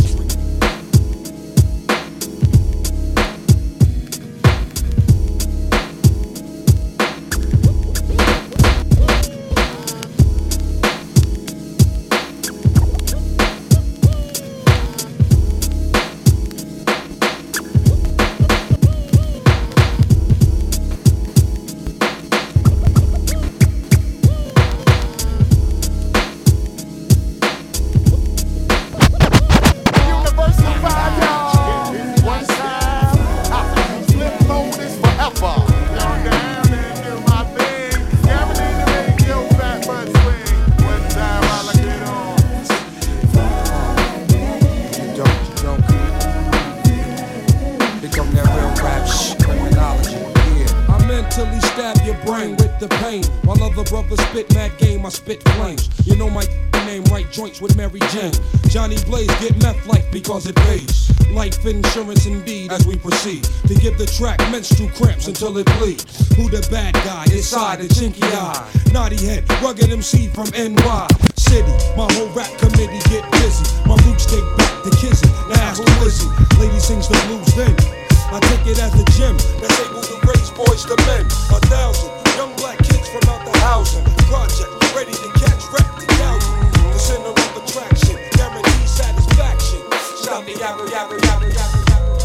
F: With Mary Jane, Johnny Blaze get meth life because it pays. Life insurance indeed as we proceed to give the track menstrual cramps until it bleeds. Who the bad guy? Inside the chinky eye, naughty head, rugged M C from N Y City. My whole rap committee get busy. My roots take back to Kizzy. Now ask who is he? Lady sings the blues then. I take it as the gym that's able to raise boys to men. A thousand young black kids from out the housing project ready to catch rap to thousand. The center of attraction, guarantee satisfaction. Stop the yabba yabba yabba yabba.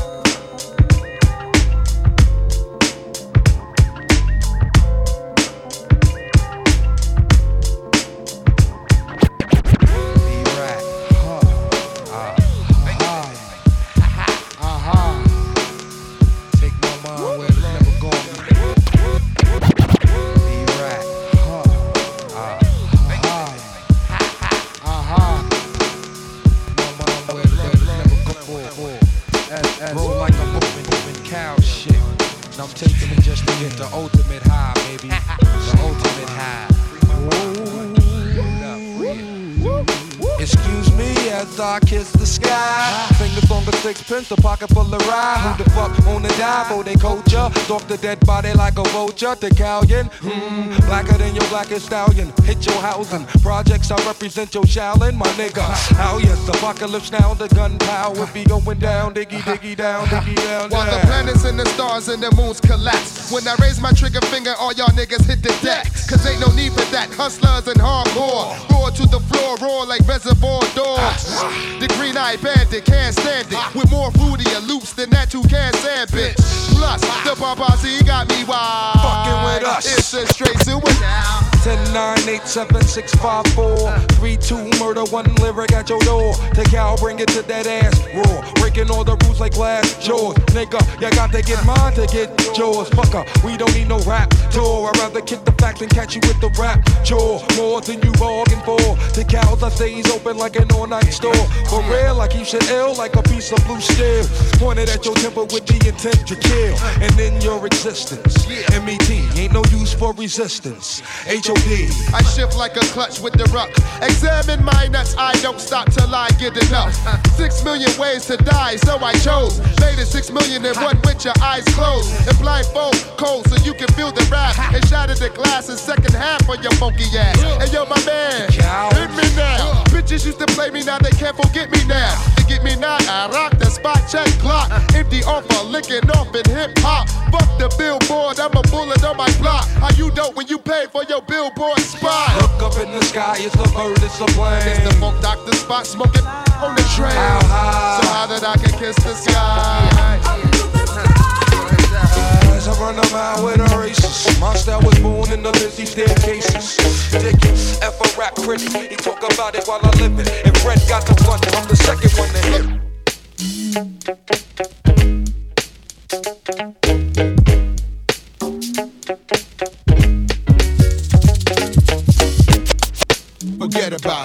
F: The ultimate high, baby. The ultimate high. Excuse me as I kiss the sky. Fingers on the sixpence, a pocket full of rye. Who the fuck on the dive? Oh, they culture. Stalk the dead body like a vulture. The Callion, hmm, blacker than your blackest stallion. Hit your housing. Projects, I represent your Shaolin, my nigga. Oh yes, apocalypse now, the gunpowder be going down, diggy, diggy, down, diggy, down, down.
D: While the planets and the stars and the moons collapse. When I raise my trigger finger, all y'all niggas hit the deck. Cause ain't no need for that. Hustlers and hardcore. Roar to the floor, roar like reservoir dogs. The green-eyed bandit can't stand it. With more fruity and loops than that you can't stand, bitch. Plus, the Babazi got me wild.
F: Fucking with us.
D: It's a straight suicide.
F: ten nine eight seven six five four three two murder, one lyric at your door. Take out, bring it to that ass raw. Breaking all the rules like glass jaws. Nigga, you got to get mine to get yours. Fucker, we don't need no rap tour. I'd rather kick the facts and catch you with the rap chore. More than you bargained for. The cows I say he's open like an all-night store. For real, I keep shit ill like a piece of blue steel. Pointed at your temple with the intent to kill. And in your existence, M E T ain't no use for resistance. H O D.
D: I shift like a clutch with the ruck. Examine my nuts, I don't stop till I get enough. Six million ways to die, so I chose. Made it six million and one with your eyes closed. And blindfold cold so you can feel the rap. And shatter the glass in second half of your funky ass. And yo, my man, hit me now. Bitch, Bitches used to play me, now they can't forget me now. They get me now, I rock the spot, check clock. Empty offer, licking off in hip hop. Fuck the billboard, I'm a bullet on my block. How you dope when you pay for your billboard spot?
Q: Look up in the sky, it's a bird, it's a plane.
D: It's the funk doctor spot, smoking on the train.
Q: How high?
D: So high that I can kiss the sky.
Q: As I run a mile with a racist, my style was born in the Lizzie staircases. Dick it, F a rap critic, he talk about it while I live it. If Red got the one, I'm the second one to hit.
D: Forget about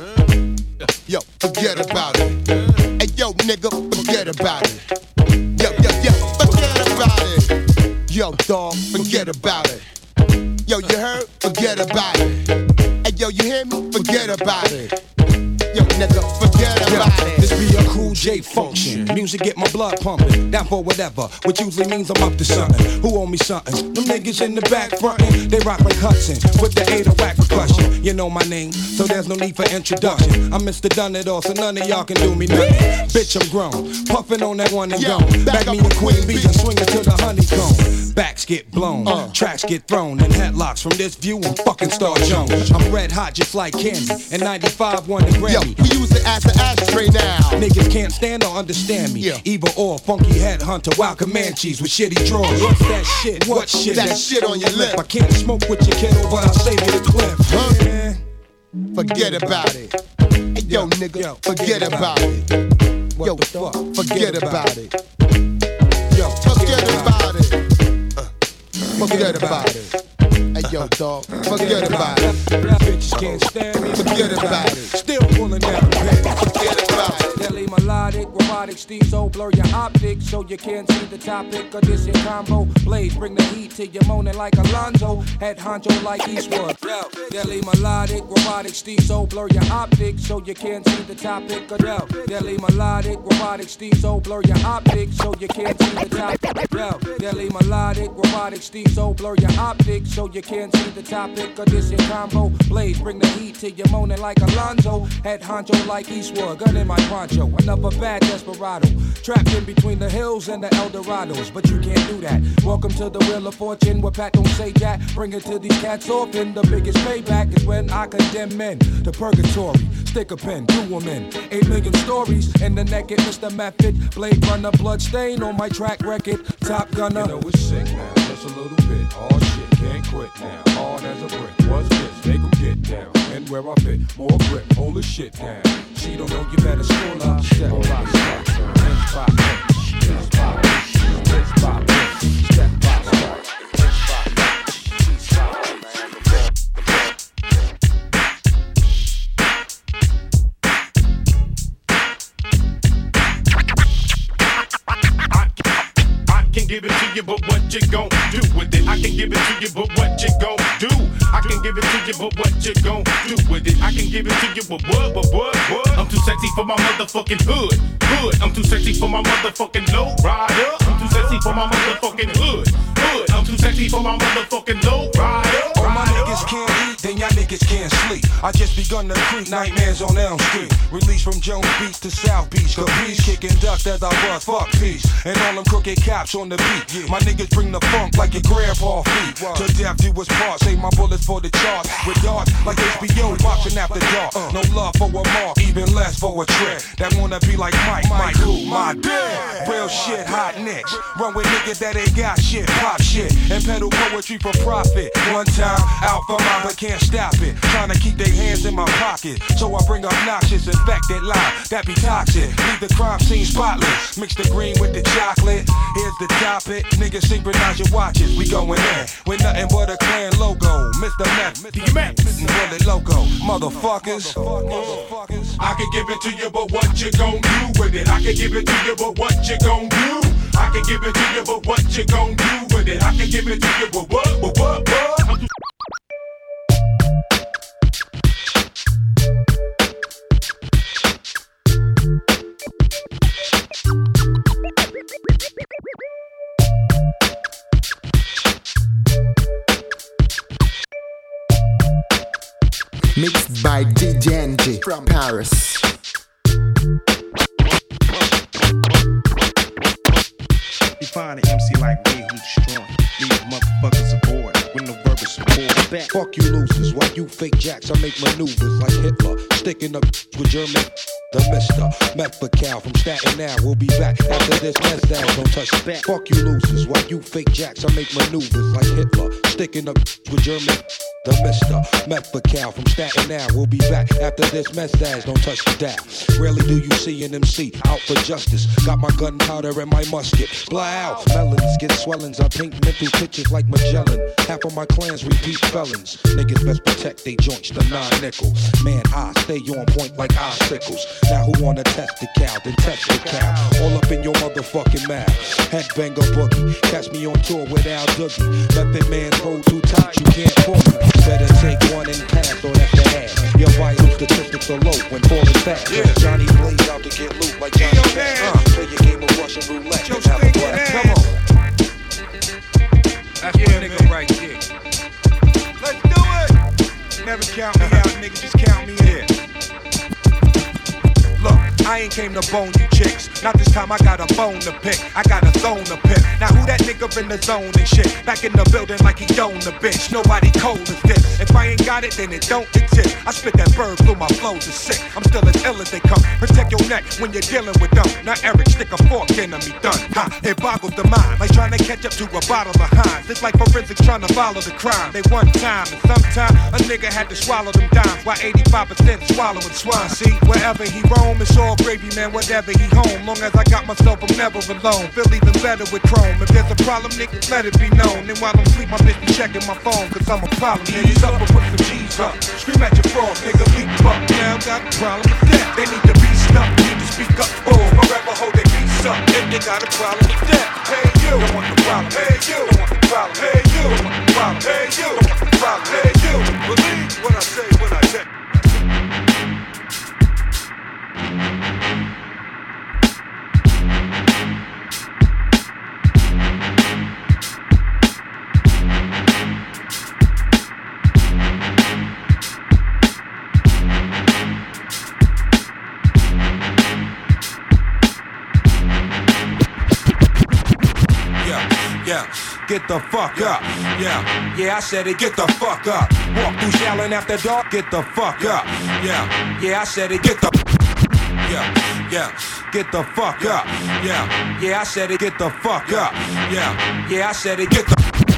D: it. Yo, forget about it. Hey, yo, nigga, forget about it. Yo, yo, yo, forget about it. Yo, dog, forget about it. Yo, you heard? Forget about it. Hey, yo, you hear me? Forget about it. Yo, nigga, forget about it.
Q: This be a cool J function. Music get my blood pumping. Down for whatever, which usually means I'm up to something. Who owe me something? Them niggas in the back frontin'. They rock like Hudson with the eight oh whack percussion. You know my name, so there's no need for introduction. I'm Mister Done It All, so none of y'all can do me nothing. Bitch, I'm grown, puffin' on that one and gone. Back me a Queen Bee and swing it to the honeycomb. Backs get blown, uh. tracks get thrown, and headlocks from this view. I'm fucking Star Jones. I'm red hot just like candy, and ninety-five won the Grammy.
D: Yo, we use it as an ashtray now.
Q: Niggas can't stand or understand me. Yeah. Either or, funky headhunter, wild Comanches with shitty drawers. What's that shit? What shit?
D: That shit on your lip.
Q: I can't smoke with your kiddo, but I'll save you the clip.
D: Huh? Yeah. Forget about it. Hey, yo, nigga, yo, forget about it.
Q: What
D: yo,
Q: the fuck?
D: Forget about it.
Q: Yo,
D: forget about it. Uh, forget about it. Hey, yo, dog, forget about it.
Q: Bitches can't stand me.
D: Forget about it.
Q: Still pulling out the pen.
D: Forget about it.
Q: Deli melodic, robotic, Steve so blur your optics so you can't see the topic of this here combo. Blaze, bring the heat to you moaning like Alonzo. Head honcho like Eastwood. Yo, Deli melodic, robotic, Steve so blur your optics so you can't see the topic of yo. Deli melodic, robotic, Steve so blur your optics so you can't see the topic. Yo, Deli melodic, robotic, Steve so blur your optics so you can't see the topic of this here combo. Blaze, bring the heat to you moaning like Alonzo. Head honcho like Eastwood. Gun in my poncho. Another bad desperado. Trapped in between the hills and the Eldorados. But you can't do that. Welcome to the Wheel of Fortune where Pat don't say that. Bring it to these cats often. The biggest payback is when I condemn men to purgatory. Stick a pen, do them in. Eight million stories in the naked Mister Method. Blade runner, blood stain on my track record. Top gunner. You know it's sick now, just a little bit. All shit, can't quit now. Hard as a brick. What's this? Make them get down. And where I fit, more grip, hold the shit down. She don't know you better school up. Step by step, inch by inch, inch by inch, inch by inch, step by step, inch by inch, inch by inch.
R: I can give it to you, but what you gon' do with it? I can give it to you, but what you gon' do? I can give it to you, but what you gon' do with it? I can give it to you, but what, but what, what? I'm too sexy for my motherfucking hood, hood. I'm too sexy for my motherfucking low rider. I'm too sexy for my motherfucking hood, hood. I'm too sexy for my motherfucking low rider.
Q: All my niggas can't eat, then y'all niggas can't sleep. I just begun to creep nightmares on Elm Street. Released from Jones Beach to South Beach. Capiche, kicking ducks as I bust, fuck peace. And all them crooked cops on the beat. My niggas bring the funk like your grandpa feet. To death do us part, save my bullets for the charts. With darts like H B O boxing after dark. No love for a mark, even less for a trick. That wanna be like Mike, Mike who? My dad. Real shit, hot nicks. Run with niggas that ain't got shit, pop shit. And peddle poetry for profit. One time, out for mine, but can't stop it. Trying to keep their hands in my pocket. So I bring obnoxious, infected lie that be toxic. Leave the crime scene spotless. Mix the green with the chocolate. Here's the topic. Niggas synchronize your watches. We going in with nothing but a clan logo. Mister Meth, the Max, Bullet Loco. Motherfuckers. Motherfuckers.
R: I can give it to you, but what you gon' do with it? I can give it to you, but what you gon' do? I can give it to you, but what you gon' do with it? I can give it to you, but what, but what, what? I'm too-
M: Mixed by D J N G from Paris.
T: You find an M C like me who's strong. These motherfuckers aboard with no verbal support. Back.
E: Fuck you losers, while you fake jacks, I make maneuvers like Hitler. Sticking up with German, the mister. Methacal from Staten Island, we'll be back after this mess down, don't touch it back. Fuck you losers, while you fake jacks, I make maneuvers like Hitler. Sticking up with German, the mister. Methacal from Staten Island, we'll be back after this mess down, don't touch the dial. Rarely do you see an M C out for justice. Got my gunpowder and my musket. Blow out, melons get swellings. I paint mental pictures like Magellan. Half of my clans repeat felons. Niggas best protect they joints, the nine nickel. Man, I stay on point like icicles. Now who wanna test the cow? Then test the cow. All up in your motherfucking mouth. Headbanger boogie. Catch me on tour with Al Doogie. Method man hold too tight, you can't pull me. Better take one and pass, or that's the ass. Your vital statistics are low when falling fast. Yeah. Johnny Blaze out to get loot like Johnny Cash. Uh, play your game of Russian roulette. Just have a blast. Come on. That's yeah, my nigga right here.
T: Let's do it! Never count me out, nigga, just count me in.
E: Look, I ain't came to bone you chicks. Not this time, I got a bone to pick. I got a zone to pick. Now who that nigga in the zone and shit? Back in the building like he owned the bitch. Nobody cold as this. If I ain't got it, then it don't exist. I spit that bird through my flows is sick. I'm still as ill as they come. Protect your neck when you're dealing with them. Now Eric, stick a fork in me done. Ha, it boggles the mind. Like trying to catch up to a bottle of Heinz. It's like forensics trying to follow the crime. They one time and sometime a nigga had to swallow them dimes. While eighty-five percent swallowing swine. See, wherever he roam, it's all gravy, man, whatever he home. Long as I got myself, I'm never alone. Feel even better with chrome. If there's a problem, nigga, let it be known. And while I'm sleep, my bitch be checking my phone. Cause I'm a problem, nigga. Ease up and put some G's up. Scream at your frog, nigga, leap up. Now got a problem with that. They need to be stuck, need to speak up. Oh, forever hold their peace up. If they got a problem with that. Hey, you, don't want the problem. Hey, you, don't want the problem. Hey, you, don't want the problem. Hey, you, don't want the problem. Hey, you, believe what I say when I say. Yeah, get the fuck up. Yeah, yeah, I said it, get the fuck up. Walk through Shallon after dark, get the fuck up. Yeah, yeah, I said it, get the Yeah, yeah, get the fuck up. Yeah, yeah, I said it, get the fuck up. Yeah, yeah, I said it, get the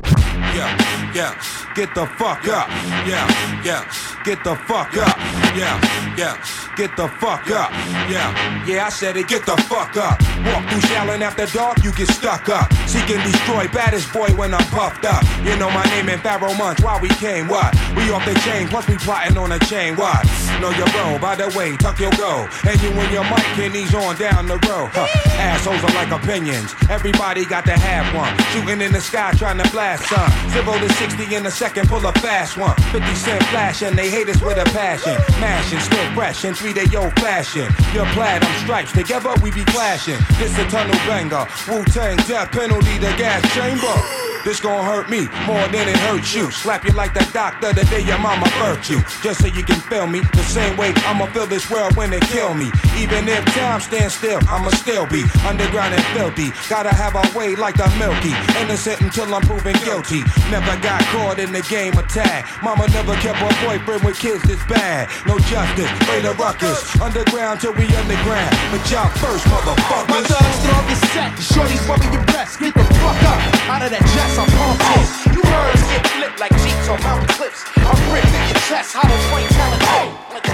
E: Yeah, yeah, get the fuck up. Yeah, yeah, get the fuck up. Yeah, yeah, get the fuck up. Yeah, yeah, I said it, get the fuck up. Walk through Shallon after dark, you get stuck up. Seek and destroy, baddest boy when I'm puffed up. You know my name in Pharaoh months, why we came, what? We off the chain, plus we plotting on a chain, what? Know your bro, by the way, tuck your go. And you and your mic and he's on down the road. Huh. Assholes are like opinions, everybody got to have one. Shooting in the sky, trying to blast some. Zero to sixty in a second, pull a fast one. fifty cent flash and they hate us with a passion. Mashing, still fresh in three-day old fashion. You're plaid, I'm stripes, together we be clashing. This a tunnel banger, Wu-Tang death penalty, the gas chamber. This gon' hurt me more than it hurts you. Slap you like the doctor the day your mama birthed you. Just so you can feel me the same way I'ma feel this world when they kill me. Even if time stands still, I'ma still be underground and filthy. Gotta have a way like the Milky. Innocent until I'm proven guilty. Never got caught in the game of tag. Mama never kept a boyfriend with kids this bad. No justice, way to ruckus. Underground till we underground. But y'all first, motherfuckers.
L: My thugs throw up your set. The shorties rubbing your breast. Get the fuck up out of that chest. I'm pumped in. You birds get flipped like Jeeps on mountain cliffs. I'm ripped in your chest. Hollow point telling hey.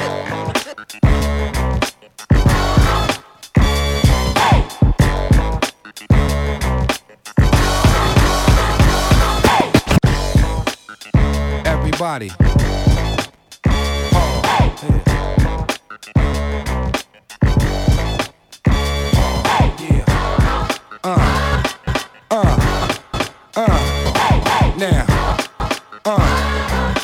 E: Everybody. Uh, uh, uh, now, uh,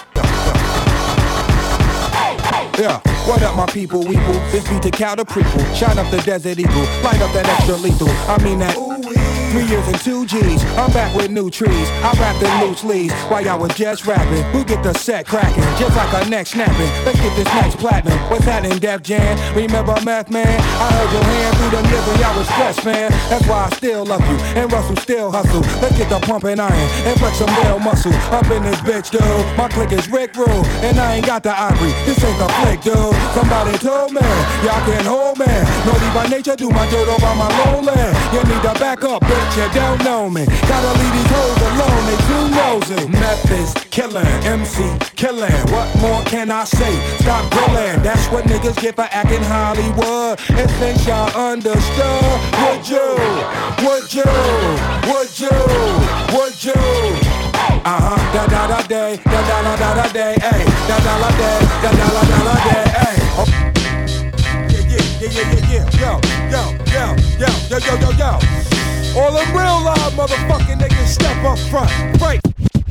E: yeah, what up my people, weeple, this beat to cow the prequel, shine up the desert eagle, light up that extra lethal, I mean that, ooh-wee.
I: Three years and two G's, I'm back with new trees. I rapped in loose leaves while y'all was just rapping. We get the set cracking, just like a neck snapping. Let's get this next platinum. What's happening, Def Jam? Remember Meth Man? I heard your hand through them years when y'all was stressed, man. That's why I still love you, and Russell still hustle. Let's get the pumping iron and flex some real muscle. Up in this bitch, dude. My clique is Rick Rule, and I ain't got the ivory. This ain't the flick, dude. Somebody told me, y'all can't hold me. Naughty by nature, do my dirt over my lowland. You need to back up, bitch, you don't know me. Gotta leave these hoes alone, they too nosy. Meth is killing, M C killing. What more can I say? Stop grilling. That's what niggas get for acting Hollywood. And since y'all understood, would you, would you, would you, would you? Uh-huh, da da da day, da da da da da day, ayy, da da da day, da da da da da day, ayy. Oh. Yeah, yeah, yeah, yeah, yeah, yo, yo, yo, yo, yo, yo, yo, yo. All them real live motherfucking niggas step up front, break.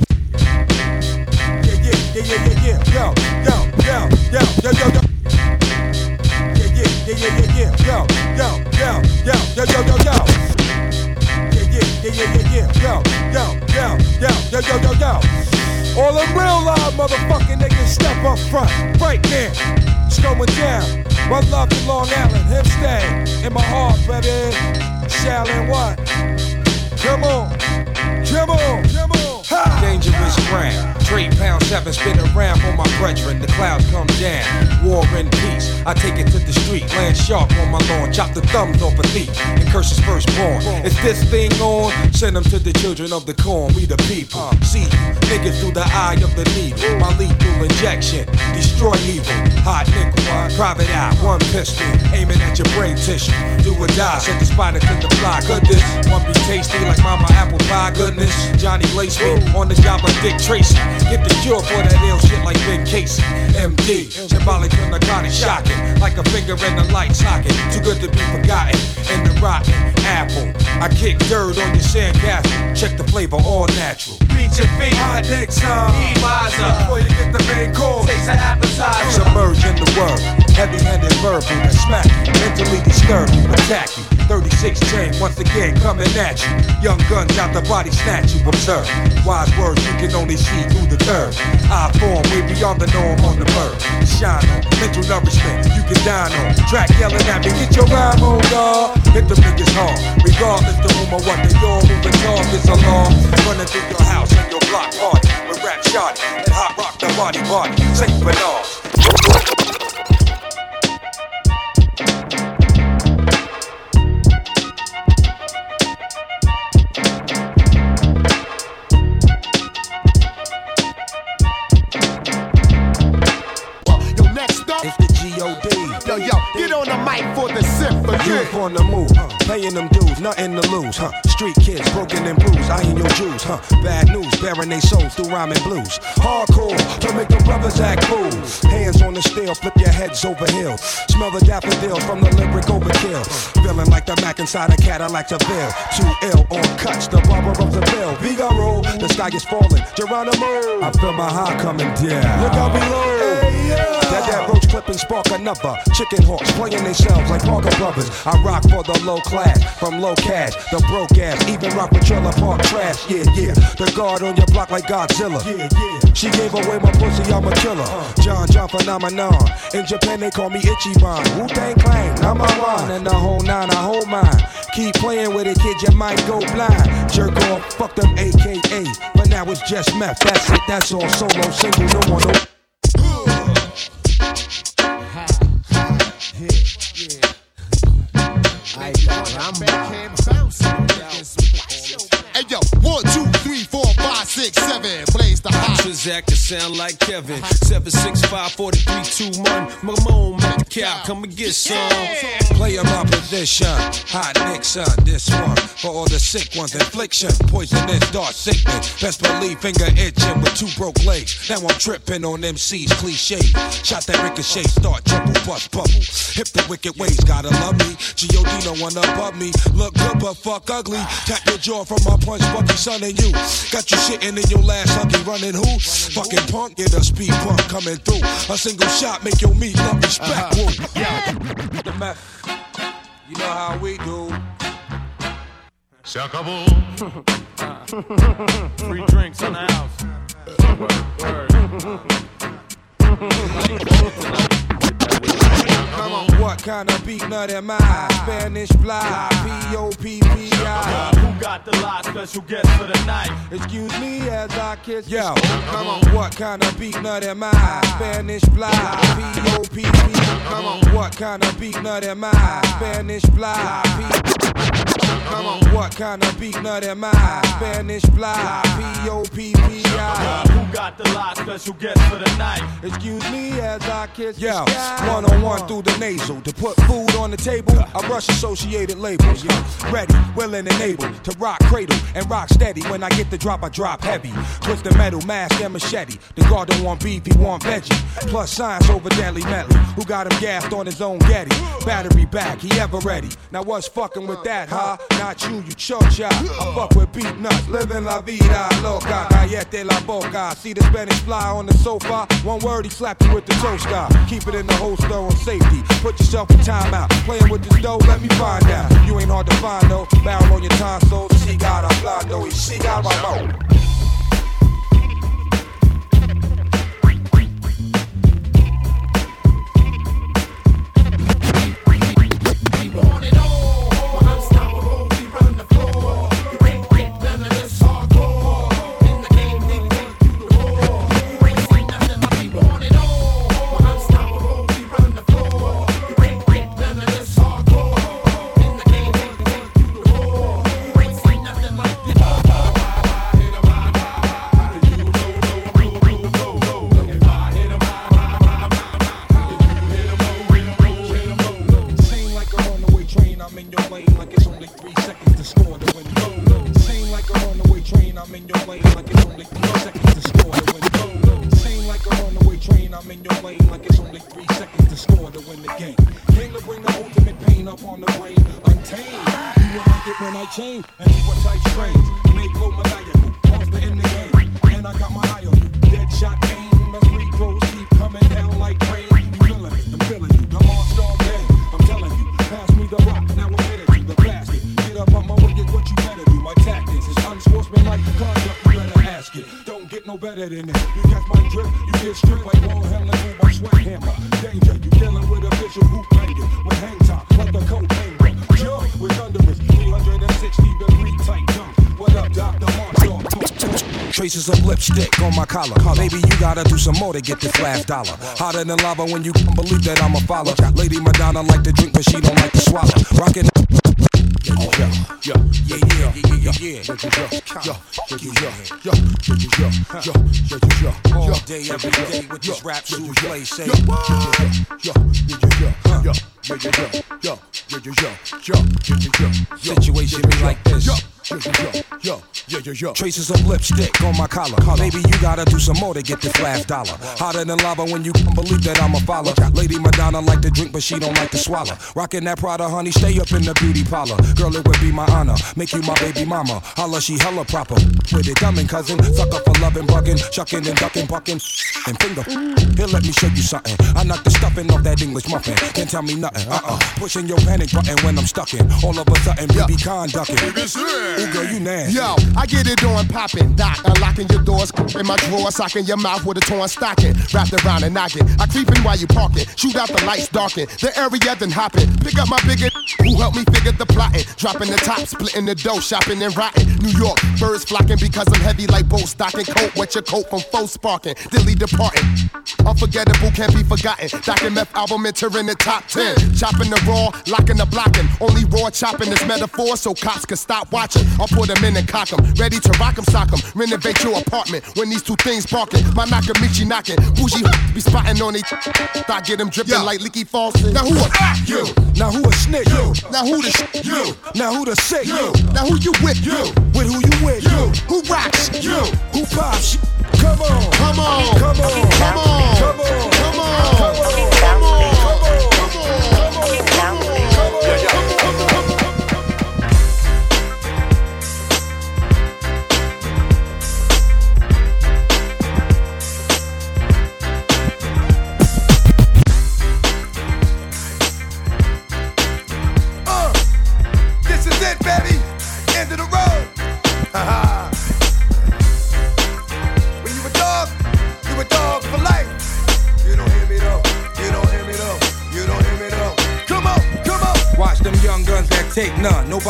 I: Yeah, yeah, yeah, yeah, yeah, yeah, yo, yo, yo, yo, yo, yo, yo. Yeah, yeah, yeah, yeah, yeah, yeah, yo, yo, yo, yo, yo, yo, yo, yo. Yeah, yeah, yeah, yeah, yo, yo, yo, yo, yo, yo, yo, yo. All them real live motherfucking niggas step up front, right there. It's going down. One love to Long Island, hip stay in my heart, baby. Shallin' what? Come on, come on, come on. Ha!
Q: Dangerous ground, trade pound seven, spin around for my brethren. The clouds come down, war and peace. I take it to the street, land sharp on my lawn, chop the thumbs off a thief and curse his firstborn. Is this thing on? Send them to the children of the corn, we the people. See niggas through the eye of the needle. My lethal injection, destroy evil. Hot nickel, private eye, one pistol, aiming at your brain tissue. Do or die, set the spider to the fly. Goodness, one be tasty like mama apple pie. Goodness, Johnny lace me on the job of Dick Tracy. Get the cure for that ill shit like Ben Casey. M D, symbolic of narcotic shocking, like a finger in the light socket. Too good to be forgotten. In the rotten apple, I kick dirt on your sandcastle. Check the flavor, all natural. Beat your feet, hot dicks up. Eat miser, before you get the main course. Taste an appetizer. Submerge in the world, heavy-handed verbal that smack you. Mentally disturb you, attack you. thirty-six chain, once again coming at you. Young guns out the body snatch you. Observe, wise words you can only see through the curve. I form way beyond the norm on the bird. Shine on, mental nourishment you can dine on. Track yelling at me, get your rhyme on, dawg. Hit them niggas hard, regardless to whom or what they all moving targets along. Running through your house and your block party with rap shot and hot rock the body body. Saint Bernard. It's the G O D.
S: Yo, yo, get on the mic for the symphony.
Q: Youth on the move, huh? Paying them dues, nothing to lose, huh? Street kids, broken and bruised, I ain't your Jews, huh? Bad news, bearing they souls through rhyming blues. Hardcore, to make the brothers act fools. Hands on the steel, flip your heads over hill. Smell the daffodils from the lyric overkill. Feeling like the Mac inside a Cadillac Seville. Too ill on cuts, the barber of the bill. Figaro, the sky is falling. Geronimo, I feel my heart coming down. Look out below. Hey, yeah. That that roach clip and spark another. Chicken hawks playing themselves like Parker Brothers. I rock for the low class, from low cash, the broke ass. Even rock with trailer park trash. Yeah, yeah. The guard on your block like Godzilla. Yeah, yeah. She gave away my pussy, I'm a killer. John John phenomenon. In Japan they call me Ichiban. Wu-Tang Clan, number one. And the whole nine, I hold mine. Keep playing with it, kid, you might go blind. Jerk off, fuck them A K As. But now it's just meth, that's it, that's all. Solo, single, no more, no.
D: Hey yo, one, two, three, four, five, six, seven. Blaze the hot.
E: Transact sound like Kevin. Seven six five four three two one. Mamone, Mac Cow, come and get some.
Q: Play my position. Hot Nixon, this one. For all the sick ones, infliction. Poisonous, dark sickness. Best believe finger itching with two broke legs. Now I'm tripping on M C's cliche. Shot that ricochet, start trouble, bust bubble. Hip the wicked ways, gotta love me. G O D no one above me. Look good but fuck ugly. Tap your jaw from my punch, Bucky, son, and you. Got you shitting in your last huggy, running who? Fucking punk, get a speed pump coming through. A single shot make your meat love respect. Uh-huh. Yeah. The meth, you know how we do.
H: Se acabó.
B: Free drinks in the house. Word,
F: Come on. What kind of beat nut am I? Spanish fly, P O P P I.
B: Who got the lot? Special guest for the night.
F: Excuse me as I kiss. Yo, come on. What kind of beat nut am I? Spanish fly, P O P P I. Come on. What kind of beat nut am I? Spanish fly, P. Come on. What kind of beat nut am I? Spanish fly, P O P P I.
B: Who got the lot? Special guest for the night.
F: Excuse me as I kiss. Yo, one on one through the nasal to put food on the table. I brush associated labels. Yo, ready, willing, and able to rock cradle and rock steady. When I get the drop, I drop heavy. Twist the metal, mask and machete. The guard don't want beef, he want veggie. Plus science over deadly medley. Who got him gassed on his own Getty? Battery back, he ever ready. Now what's fucking with that, huh? Not you, you chocha. I fuck with beat nuts, living la vida loca. Cállate la boca. See the Spanish fly on the sofa. One word, he slapped you with the toaster. Keep it in the holster on safety. Put yourself in timeout. Playing with this dough, let me find out. You ain't hard to find though. Barrel on your tonsils. She got a blando, y she got my mouth. Traces of lipstick on my collar. Maybe you gotta do some more to get this last dollar. Hotter than lava when you believe that I'm a follower. Lady Madonna like to drink, but she don't like to swallow. Rockin'. Yeah, yeah, yeah, yeah, yeah, yeah, yeah, yeah. All day, every day with this rap shoes play, say. Situation be like this. Traces of lipstick on my collar. Maybe you gotta do some more to get this last dollar. Hotter than lava when you believe that I'm a follower. Lady Madonna like to drink, but she don't like to swallow. Rockin' that Prada, honey, stay up in the beauty parlor. Girl, it would be my honor, make you my baby mama. Holla, she hella proper. With it, dummin' cousin. Sucker for loving, bugging, shucking and ducking, bucking, and finger. Here, let me show you something. I knock the stuffing off that English muffin. Can't tell me nothing. Uh-uh. Pushing your panic button when I'm stuckin'. All of a sudden, B B conducting. Ooh, girl, you nasty.
G: Yo, I get it on poppin', doc. Unlocking your doors in my drawer, socking your mouth with a torn stocking. Wrapped around and knocking. I creepin' while you parkin'. Shoot out the lights, darken. The area then hoppin'. Pick up my bigger who helped me figure the plotting. Dropping the top, splitting the dough, shopping and rotting. New York, birds flocking because I'm heavy like boat stocking. Coat, wet your coat from faux sparking. Dilly departing. Unforgettable, can't be forgotten. Doc and Meth album entering the top ten. Chopping the raw, locking the blocking. Only raw chopping is metaphor so cops can stop watching. I'll put them in and cock them. Ready to rock them, sock them. Renovate your apartment when these two things parking. My Nakamichi knocking. Bougie be spotting on it. Thought get them dripping like leaky faucet. Now who a you?
F: Now who a snitch?
G: You. Now who the sh- you?
F: Now who the sick?
G: You. Now who you with? You.
F: With who you with?
G: You. Who rocks? You.
F: Who pops? Come on.
G: Come on.
F: Come on.
G: Come on.
F: Come on.
G: Come on. Come on. Come on.
F: Yeah, yeah.
H: Uh, this is it, baby. End of the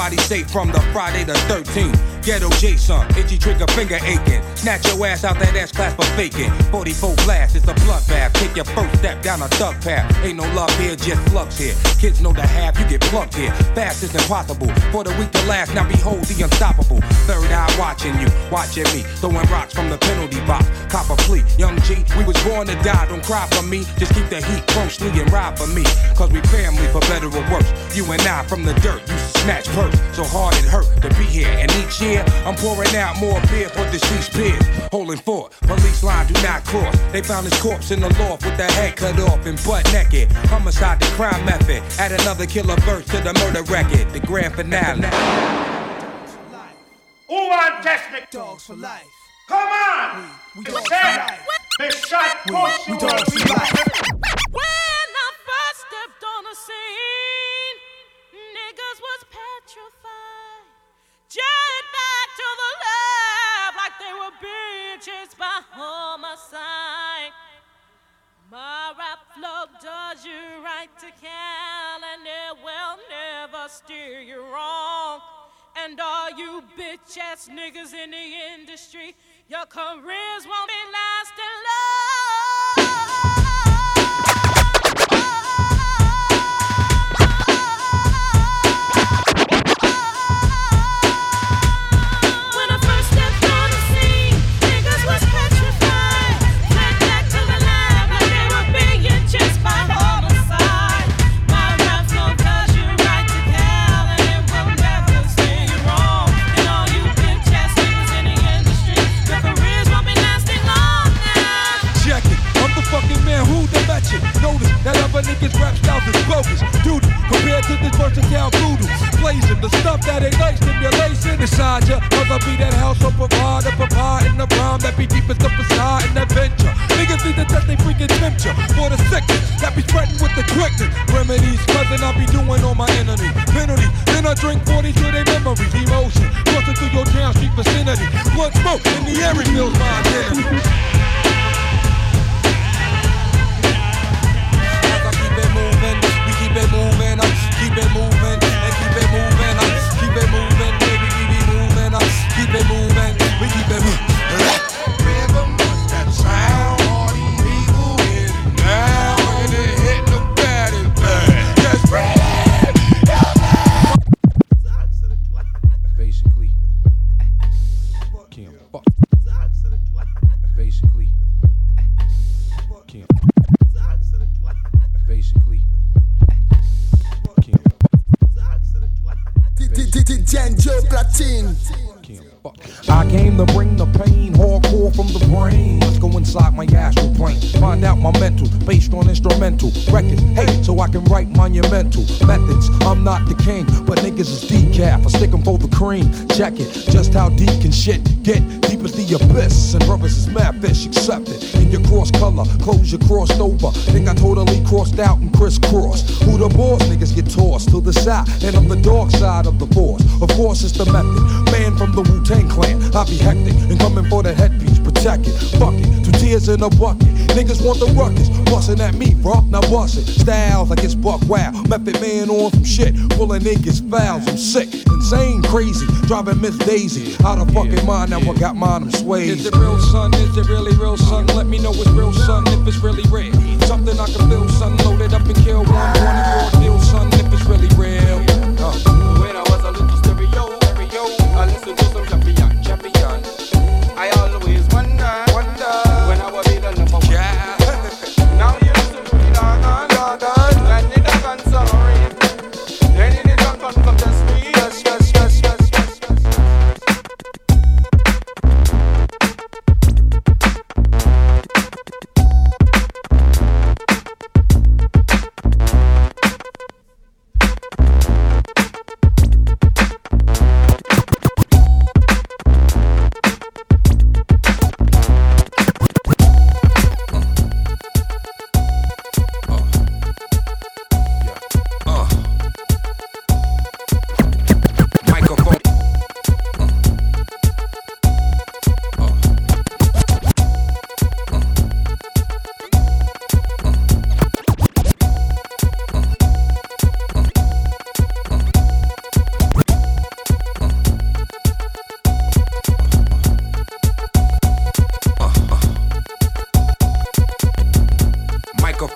F: Nobody safe from the Friday the thirteenth. Ghetto Jason, itchy trigger finger aching. Snatch your ass out that ass class for faking. forty-four blast, it's a bloodbath. Take your first step down a thug path. Ain't no love here, just flux here. Kids know the half, you get plucked here. Fast is impossible for the weak to last. Now behold the unstoppable. Third eye watching you, watching me. Throwing rocks from the penalty box. Cop a plea, young G, we was born to die. Don't cry for me, just keep the heat closely and ride for me. Cause we family for better or worse. You and I from the dirt, used to snatch purse. So hard it hurt to be here. And each year, I'm pouring out more beer for deceased peers. Holding fort, police line do not cross. They found his corpse in the loft with the head cut off and butt naked. Homicide, the crime method. Add another killer verse to the murder record. The grand finale.
J: Who want test me? Dogs for life. Come on! We, we dogs for life. They shot push you. We dogs for life.
A: When I first stepped on the scene, niggas was petrified. Jet back to the lab like they were being chased by homicide. My rap flow does you right to Cal, and it will never steer you wrong. And all you bitch ass niggas in the industry, your careers won't be lasting long.
I: Notice that other niggas' rap styles is bogus. Duty compared to this versatile voodoo. Blazing the stuff that ain't like stimulation inside ya. Cause I be that house of provider, providing the rhyme that be deepest the facade and adventure. Niggas need to test they freaking temperature for the sickness that be spreading with the quickness. Remedies, cousin, I be doing on my enemy. Penalty, then I drink forty to their memories. Emotion, crossing through your town street vicinity. Blood smoke in the air reveals my identity. Keep it moving, uh, keep it moving, and keep it moving, uh, keep it moving, baby, keep it moving, uh, keep it moving, we keep it moving. Rhythm, that sound, all these people hit it now, and it hit the body bad. Just bring it. Basically, can't fuck. Basically, can't. Basically.
M: Janjo Platine.
I: I came to bring the pain, hardcore from the brain. Let's go inside my astral plane, find out my mental, based on instrumental records. Hey, so I can write monumental methods. I'm not the king, but niggas is decaf. I stick 'em for the cream. Check it, just how deep can shit get? Deep as the abyss, and brothers is mad fish. Accept it in your cross color, clothes you crossed over. Think I totally crossed out and crisscrossed. Who the boss? Niggas get tossed to the side, and I'm the dark side of the force. Of course, it's the method. Man from the Wu-Tang Clan, I be hectic and coming for the headpiece, protect it. Fuck it, two tears in a bucket. Niggas want the ruckus, bustin' at me, bro. Now bust it. Styles like it's buck wow. Method man on some shit, pulling niggas fouls. I'm sick, insane, crazy, driving Miss Daisy out of fucking mind. Now I got mine, I'm swayed. Is it real, son? Is it really real, son? Let me know it's real, son. If it's really real, something I can feel, son. Loaded up and kill one twenty-four deal, son. If it's really real. Uh.
K: When I was a little stereo, stereo, I listened to some champion, champion. I always wonder, wonder when I will be the number one. Yeah. Now you listen to me, dog, dog, dog. And the dog on sorry. Then the dog on come test me. Yes, yes, yes, yes, yes,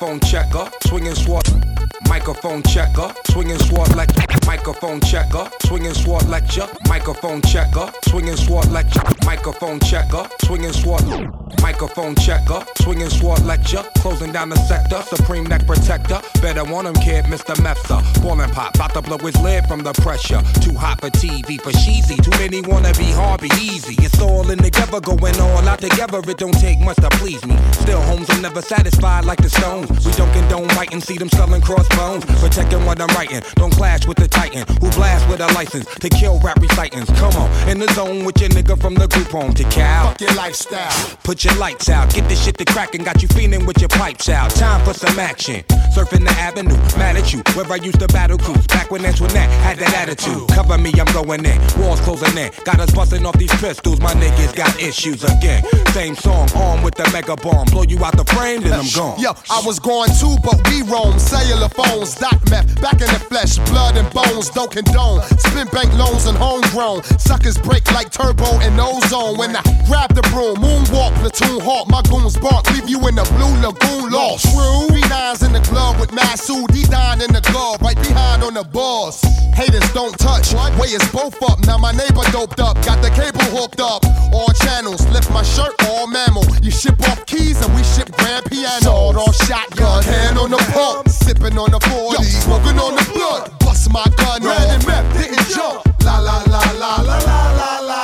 F: Microphone checker, swinging sword. Microphone checker, swinging sword lecture. Microphone checker, swinging sword lecture. Microphone checker, swinging sword lecture. Microphone checker, swinging sword. Microphone checker, swinging sword lecture. Closing down the sector, supreme neck protector. Better want him, kid, Mister Mepsa. Ballin' pop, bout to blow his lid from the pressure. Too hot for T V, for cheesy. Too many wanna be hard, be easy. It's all in together, going all out together. It don't take much to please me. Still, homes are never satisfied like the Stones. We don't condone biting, see them selling crossbones. Protecting what I'm writing, don't clash with the titan who blast with a license to kill rap recitants. Come on, in the zone with your nigga from the group home to Cal.
G: Fuck your lifestyle.
F: Put your lights out, get this shit to crackin', got you feeling with your pipes out. Time for some action. Surfing the avenue, mad at you, where I used to battle cruise. Back when Antoinette had that attitude. Cover me, I'm going in. Walls closing in. Got us busting off these pistols. My niggas got issues again. Same song, armed with the mega bomb. Blow you out the frame, then I'm gone.
G: Yo, I was going too, but we roam. Cellular phones, dot meth, back in the flesh, blood and bones, don't condone. Spin bank loans and homegrown. Suckers break like turbo and ozone. When I grab the broom, moonwalk, platoon hawk, my goons bark, leave you in the blue lagoon lost. True. Three nines in the club with Masood, D nine in the glove, right behind on the balls. Haters don't touch, way is both up. Now my neighbor doped up, got the cable hooked up. All channels, lift my shirt, all mammal. You ship off keys and we ship grand piano. Sawed off shotgun, hand on the pump, sipping on the forty, smoking on the blood. Bust my gun, red and meth didn't jump. La la la la la la la la.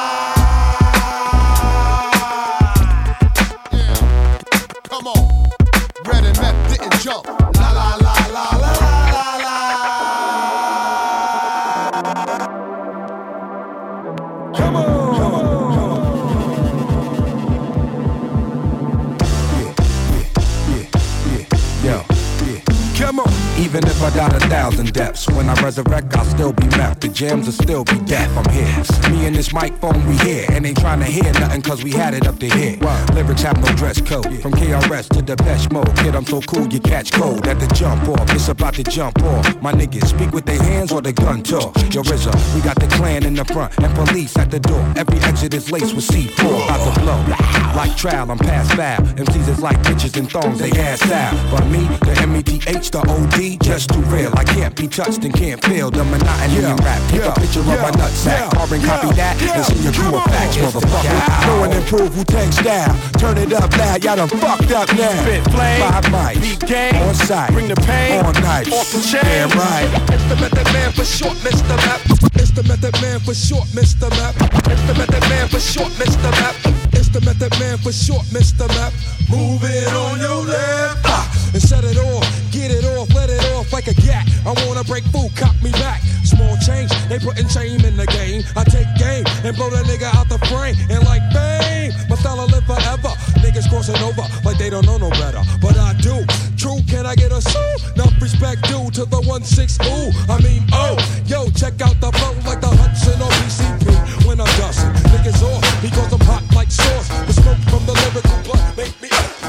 G: Yeah, come on, red and meth didn't jump. La la la la la la la.
F: Come on, come on, come on. Yeah, yeah, yeah, yeah, yeah. Come on. Even if I died a thousand deaths, when I resurrect, I'll still be meth. The jams will still be deaf. I'm here. Me and this microphone, we here. And ain't trying to hear nothing, cause we had it up to here. Lyrics have no dress code. From K R S to Depeche Mode. Kid, I'm so cool, you catch cold at the jump off. It's about to jump off. My niggas speak with their hands or the gun talk. Yo, R Z A, we got the clan in the front and police at the door. Every exit is laced with C four. About to blow. Like trial, I'm past foul. M Cs is like bitches and thongs, they ass out. But me, the M E T H, the O D, just too real. I can't be touched and can't feel the monotony in rap. Take a picture of my nutsack, carbon copy that, and see your crew of facts, motherfucker. Know and improve who takes style. Turn it up loud, y'all done fucked up now.
J: Spit flame,
F: five mics,
J: beat game,
F: on site,
J: bring the pain,
F: on night,
J: off the chain.
F: Damn right.
J: It's the Method Man for short, Mister Map. It's the Method Man for short, Mister Map. It's the Method Man for short, Mister Map. It's the Method Man for short, Mister Map. Move it on your left, ah, and set it off, get it off, let it off like a gat. I wanna break food, cop me back. Small change, they putting shame in the game. I take game and blow that nigga out the frame. And like fame, my style will live forever. Niggas crossing over like they don't know no better, but I do. True, can I get a sue? Enough respect due to the one six ooh. I mean, oh, yo, check out the flow like the Hudson or P C P. When I'm dusting, niggas off because I'm hot like sauce. The smoke from the lyrical blood make me up.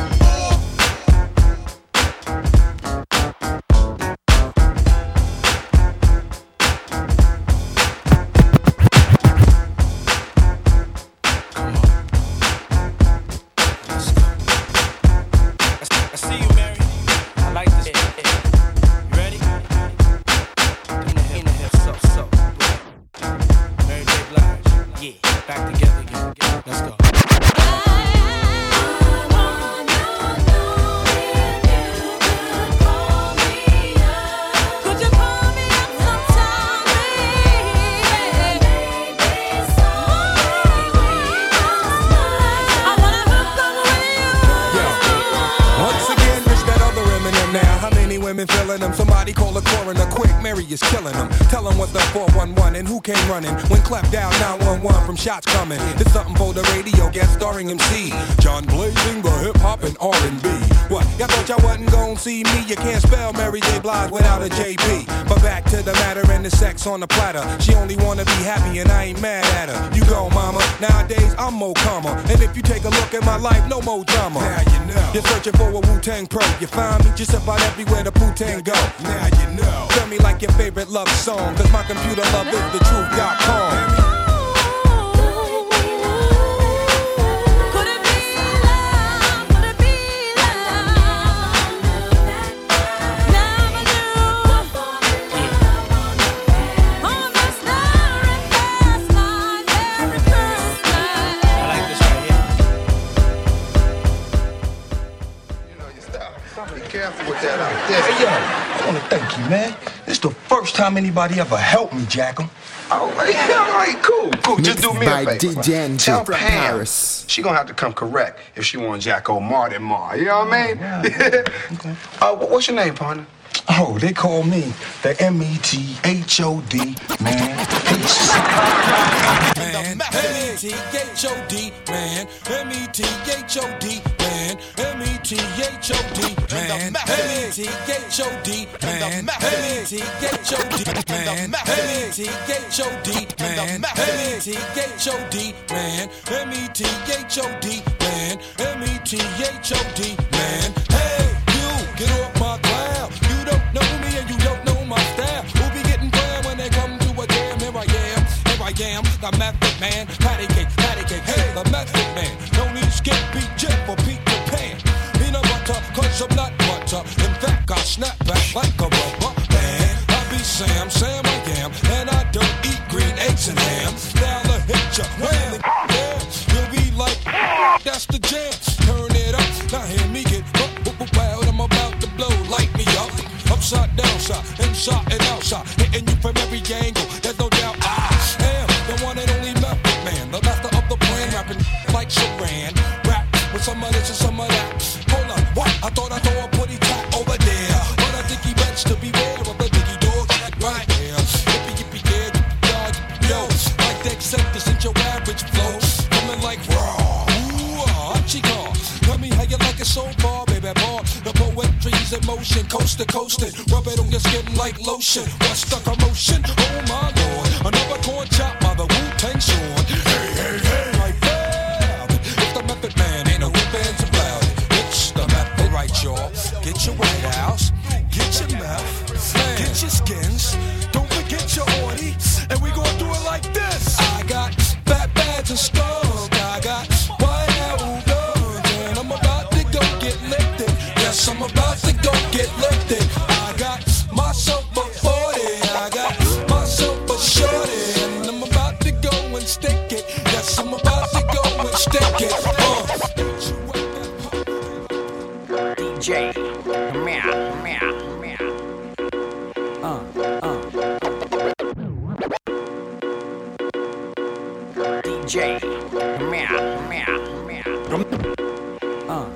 F: Somebody call a coroner quick, Mary is killing them. Tell them what's the four one one and who came running. When clapped down nine one one from shots coming. It's something for the radio, guest starring M C John Blazing, the hip hop and R and B. What, y'all thought y'all wasn't gon' see me? You can't spell Mary J. Blige without a J P. But back to the matter and the sex on the platter. She only wanna be happy and I ain't mad at her. You go, mama. Nowadays I'm more calmer. And if you take a look at my life, no more drama. Now you know. You're searching for a Wu-Tang pro. You find me just about everywhere the Wu-Tang go. Now you know. Tell me like your favorite love song, cause my computer love is the truth dot com.
G: careful with that out there.
J: Hey, yo, I want to thank you, man. It's the first time anybody ever helped me, Jackum.
K: All right, all right, cool, cool. Just do me a
M: by
K: favor.
M: D J N G
K: Tell
M: from
K: Pam
M: Paris.
K: she gonna have to come correct if she want Jacko Martin Mar. You know what I mean? Okay. uh, what's your name, partner?
J: Oh, they call me the M E T H O D, man.
U: Man, M E T H O D, man, M E T H O D, man, M E T H O D, man, M E T H O D, man, M E T H O D, man, M E T H O D, man, M E T H O D, man, M E T H O D, man, M E T H O D, man. Hey, you, get off my cloud. You don't know me and you don't know my style. Who be getting down when they come to a jam? Here I am, here I am, the method man. Patty cake, patty cake, hey, the method man. No need skip, beat Jeff or Peter Pan. Peanut butter, cause I'm not butter. In fact, I snap back like a rubber man. I be Sam, Sam I am, and I don't eat green eggs and ham. Now the hit ya, when the yeah, you'll be like, that's the jam. Turn it up, now hear me get wild. I'm about to blow, light me up. Upside, downside, inside and outside, hitting you from every angle. There's no doubt I am the one and only method man, the master of the plan, rapping like Sharan. Rap with some of this and some of that. Hold on, what? I thought I saw a putty tat over there, but I think he bets to beware of the diggy dog right here. Yippee yippee yeah, yippee dog, yo, like the acceptance in your average flow, coming like raw. Ooh, ah, chica, tell me how you like it so far, baby boy. The poetry's in motion, coast to coast, and rub it on your skin like lotion. What's the commotion? Oh my lord, another corn chop by the Wu-Tang Sword. Hey, hey, hey, like that. It's the method man, ain't no whip hands about it. It's the method, right, y'all. Get your White House, get your mouth, get your skins. Don't forget your orty, and we gon' do it like this. I got fat bags and skunk. I got White House guns, and I'm about to go get lifted. Yes, I'm about to go get lifted. I got myself a forty, I got myself a shorty, and I'm about to go and stick it. Yes, I'm about to go and stick it. Uh.
Q: D J, meow, meow, meow. Uh, uh. D J, meow, meow, meow. Uh.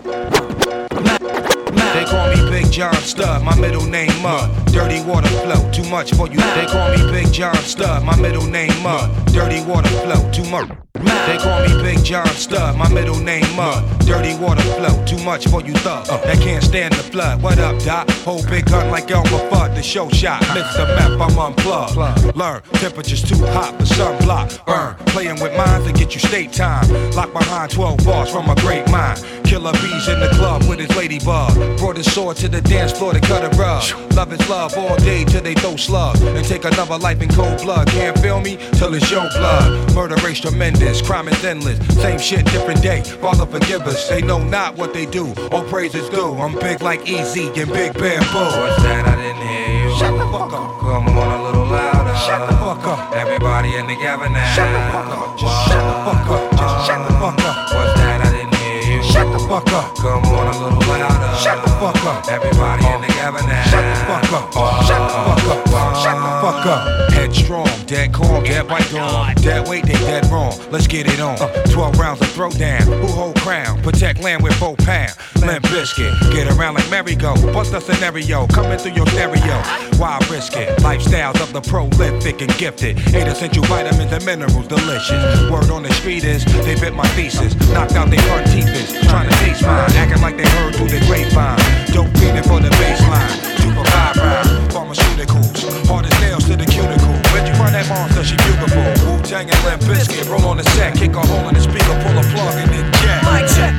F: They call me Big John Stud, my middle name Mud. Dirty water flow, too much for you. They call me Big John Stud, my middle name Mud. Dirty water flow, too much. They call me Big John Stud, my middle name Mud. Dirty water flow, too much for you thug. Uh, that can't stand the flood. What up, Doc? Whole big gun like Elmer Fudd, the show shot. Mister Meth, I'm unplugged. Learn, temperature's too hot for sunblock. Burn, playing with minds to get you state time. Locked behind twelve bars from a great mind. Killer bees in the club with his ladybug. Brought his sword to the dance floor to cut a rug. Love is love all day till they throw slugs. And take another life in cold blood. Can't feel me till it's your blood. Murder race tremendous, crime is endless. Same shit, different day. Father forgive us. They know not what they do. All praises due. I'm big like Easy and Big Bamboo. What's that? I didn't hear you. Shut the fuck up. Come on a little louder. Shut the fuck up. Everybody in together now. Shut the fuck up. Just shut the fuck up. Just shut the fuck up. What's that? I didn't hear you. Shut the fuck up. Come on a little louder. Shut the fuck up. Everybody in together now. Shut the fuck up. Shut the fuck up. Shut the fuck up. Headstrong, dead calm, dead white dawn. Dead weight, they dead wrong. Let's get it on. Uh, Twelve rounds of throwdown. Who hold crown? Protect land with four pound. Limp biscuit. Get around like merry-go. Bust a scenario. Coming through your stereo. Why risk it? Lifestyles of the prolific and gifted. Eight essential vitamins and minerals, delicious. Word on the street is they bit my thesis. Knocked out their front teeth is trying to taste mine. Acting like they heard through the grapevine. Dope feeling for the baseline. Super five rounds. Pharmaceuticals. Hard as nails to the cuticle. Where'd you find that monster? She beautiful. Wu-Tang and Limp Bizkit. Roll on the set. Kick a hole in the speaker. Pull a plug and then jack. Mic check.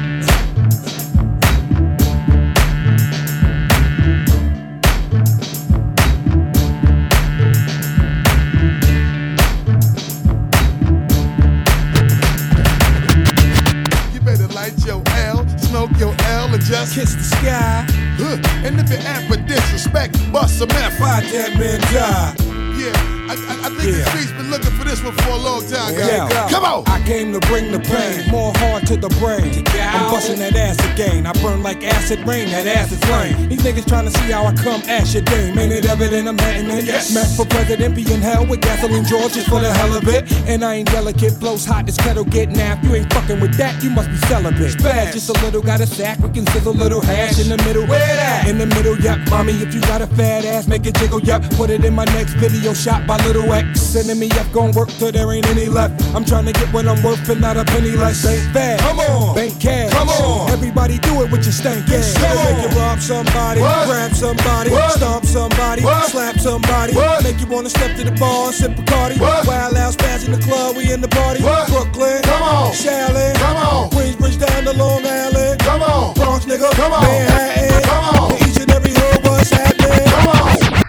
G: Your L and just kiss the sky. Huh. And if you're at for disrespect, bust some F. Fight that man die. Yeah, I, I, I think yeah. the streets been looking for this one for a long time, guys.
I: Yeah.
G: Come on.
I: I came to bring the pain, more hard to the brain. I'm busting that ass gain. I burn like acid rain, that ass is flame. These niggas trying to see how I come ash your dame. Ain't it evident I'm hatting it? Yes. Met for president, be in hell with gasoline George just for the hell of it. And I ain't delicate, blows hot, this kettle get napped. You ain't fucking with that, you must be celibate. Spaz, just a little, got a sack, we can sizzle a little hash in the middle. Where that? In the middle, yep. Mommy, if you got a fat ass, make it jiggle, yep. Put it in my next video shot by Little X. Sending me up, gon' work till there ain't any left. I'm trying to get what I'm worth and not a penny less. Ain't bad. Come on. Bank cash. Come on. Everybody do it with your stank ass. Make you rob somebody, what? Grab somebody, what? Stomp somebody, what? Slap somebody, what? Make you wanna step to the bar and sip Bacardi. Wild out, spaz in the club, we in the party. What? Brooklyn, come on. Shaolin, come on. Queensbridge down to Long Island, come on. Bronx nigga, come on. Manhattan, come on. In each and every hood, what's happening? Come on.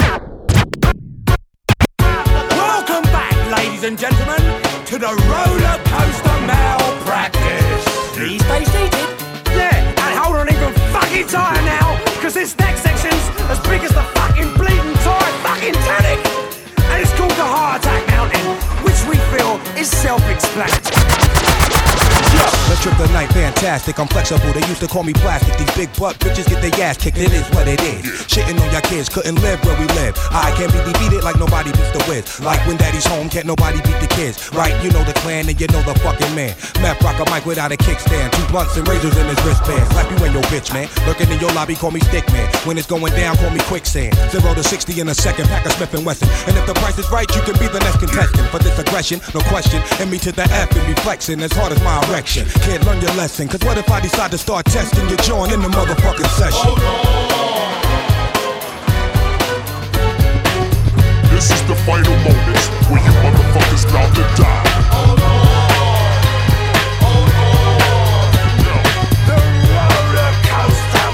N: Welcome back, ladies and gentlemen, to the roller coaster malpractice. Please stay seated. Yeah, and hold on even fucking tighter now, cause this next section's as big as the fucking bleeding tired fucking Titanic. And it's called the Heart Attack Mountain, which we feel is self-explanatory.
Q: Let's trip the night, fantastic, I'm flexible, they used to call me plastic. These big butt bitches get their ass kicked, it is what it is. Shitting on your kids, couldn't live where we live. I can't be defeated like nobody beats the whiz. Like when daddy's home, can't nobody beat the kids. Right, you know the clan and you know the fucking man. Meth rock a mic without a kickstand, two blunts and razors in his wristband. Slap you and your bitch, man. Lurking in your lobby, call me stick man. When it's going down, call me quicksand. Zero to sixty in a second, pack of Smith and Wesson. And if the price is right, you can be the next contestant. For this aggression, no question, and me to the F and be flexing as hard as my erection. Can't learn your lesson, cause what if I decide to start testing your joint in the motherfucking session?
O: This is the final moments where you motherfuckers about to die.
N: The roller coaster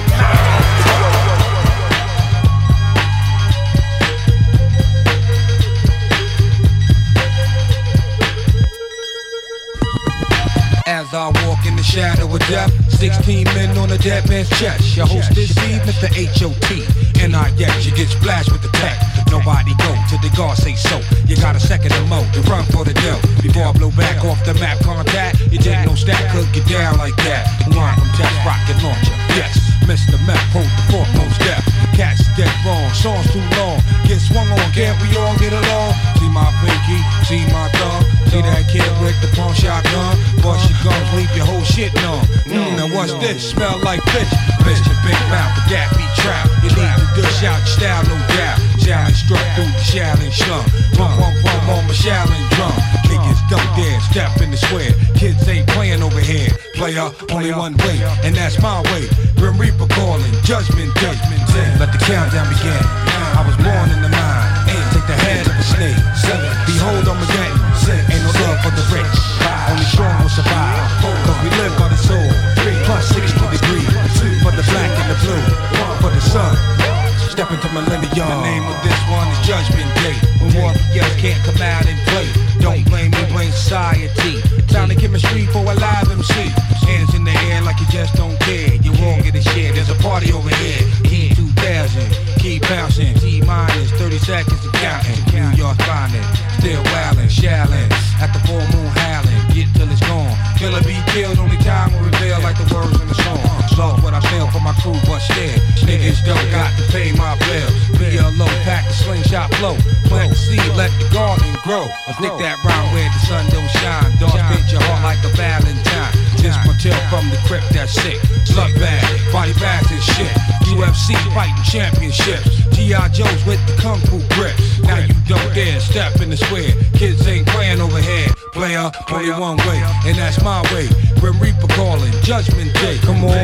F: As I walk in the shadow of death, sixteen men on a dead man's chest. Your host this evening, the H O T. And I yes, you get splashed with the tech. Nobody go till the guard say so. You got a second to mo to run for the dough. Before I blow back off the map contact, you take no stack, could get down like that. Line from test rocket launcher. Yes, Mister Meth, hold the foremost step. Cats dead wrong, songs too long. Get swung on, can't we all get along? See my pinky, see my thumb. See that kid with the pump shotgun. Bust your guns, leave your whole shit numb. Mmm, now what's this? Smell like fish. Bitch, your big mouth, but that be trap. You need to dish out your style, no doubt. Shaolin struck through the Shaolin slum. Pump, pump, pump on my Shaolin drum. Niggas don't dare step in the square. Kids ain't playing over here. Player, only one way, and that's my way. Grim Reaper calling, judgment day. Let the countdown begin. I was born in the mind. Take the head of a snake. Behold, I'm again. Ain't no love for the rich. Only strong will survive. Cause we live by the soul. Plus sixty degrees. For the black and the blue. For the sun. Step into millennium. The name of this one is Judgment Day. When warriors can't come out and play. Don't blame me, blame society. Sound of chemistry for a live M C. Hands in the air like you just don't care. You won't get a share. There's a party over here. Key two thousand. Keep bouncing. T minus thirty seconds to counting. New York finest. Still wildin', shallin'. At the full moon howling. Get till it's gone. Killer be killed. Only time will reveal like the words in the song. Lost what I feel for my crew, but still. Niggas don't got to pay my bills. Be a low pack the slingshot flow. Plant the seed, let the garden grow. I think that round where the sun don't shine. Dog fit your heart like a Valentine. This my tale from the crypt that's sick. Slut bag, body bags and shit. U F C fighting championships. G I Joes with the kung fu grip. Now you don't dare step in the square. Kids ain't playing over here. Player, only one way, and that's my way. Grim Reaper calling, Judgment Day. Come on,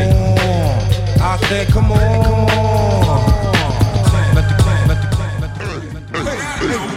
F: I said come on. Let the clan, let the clan, let the clan.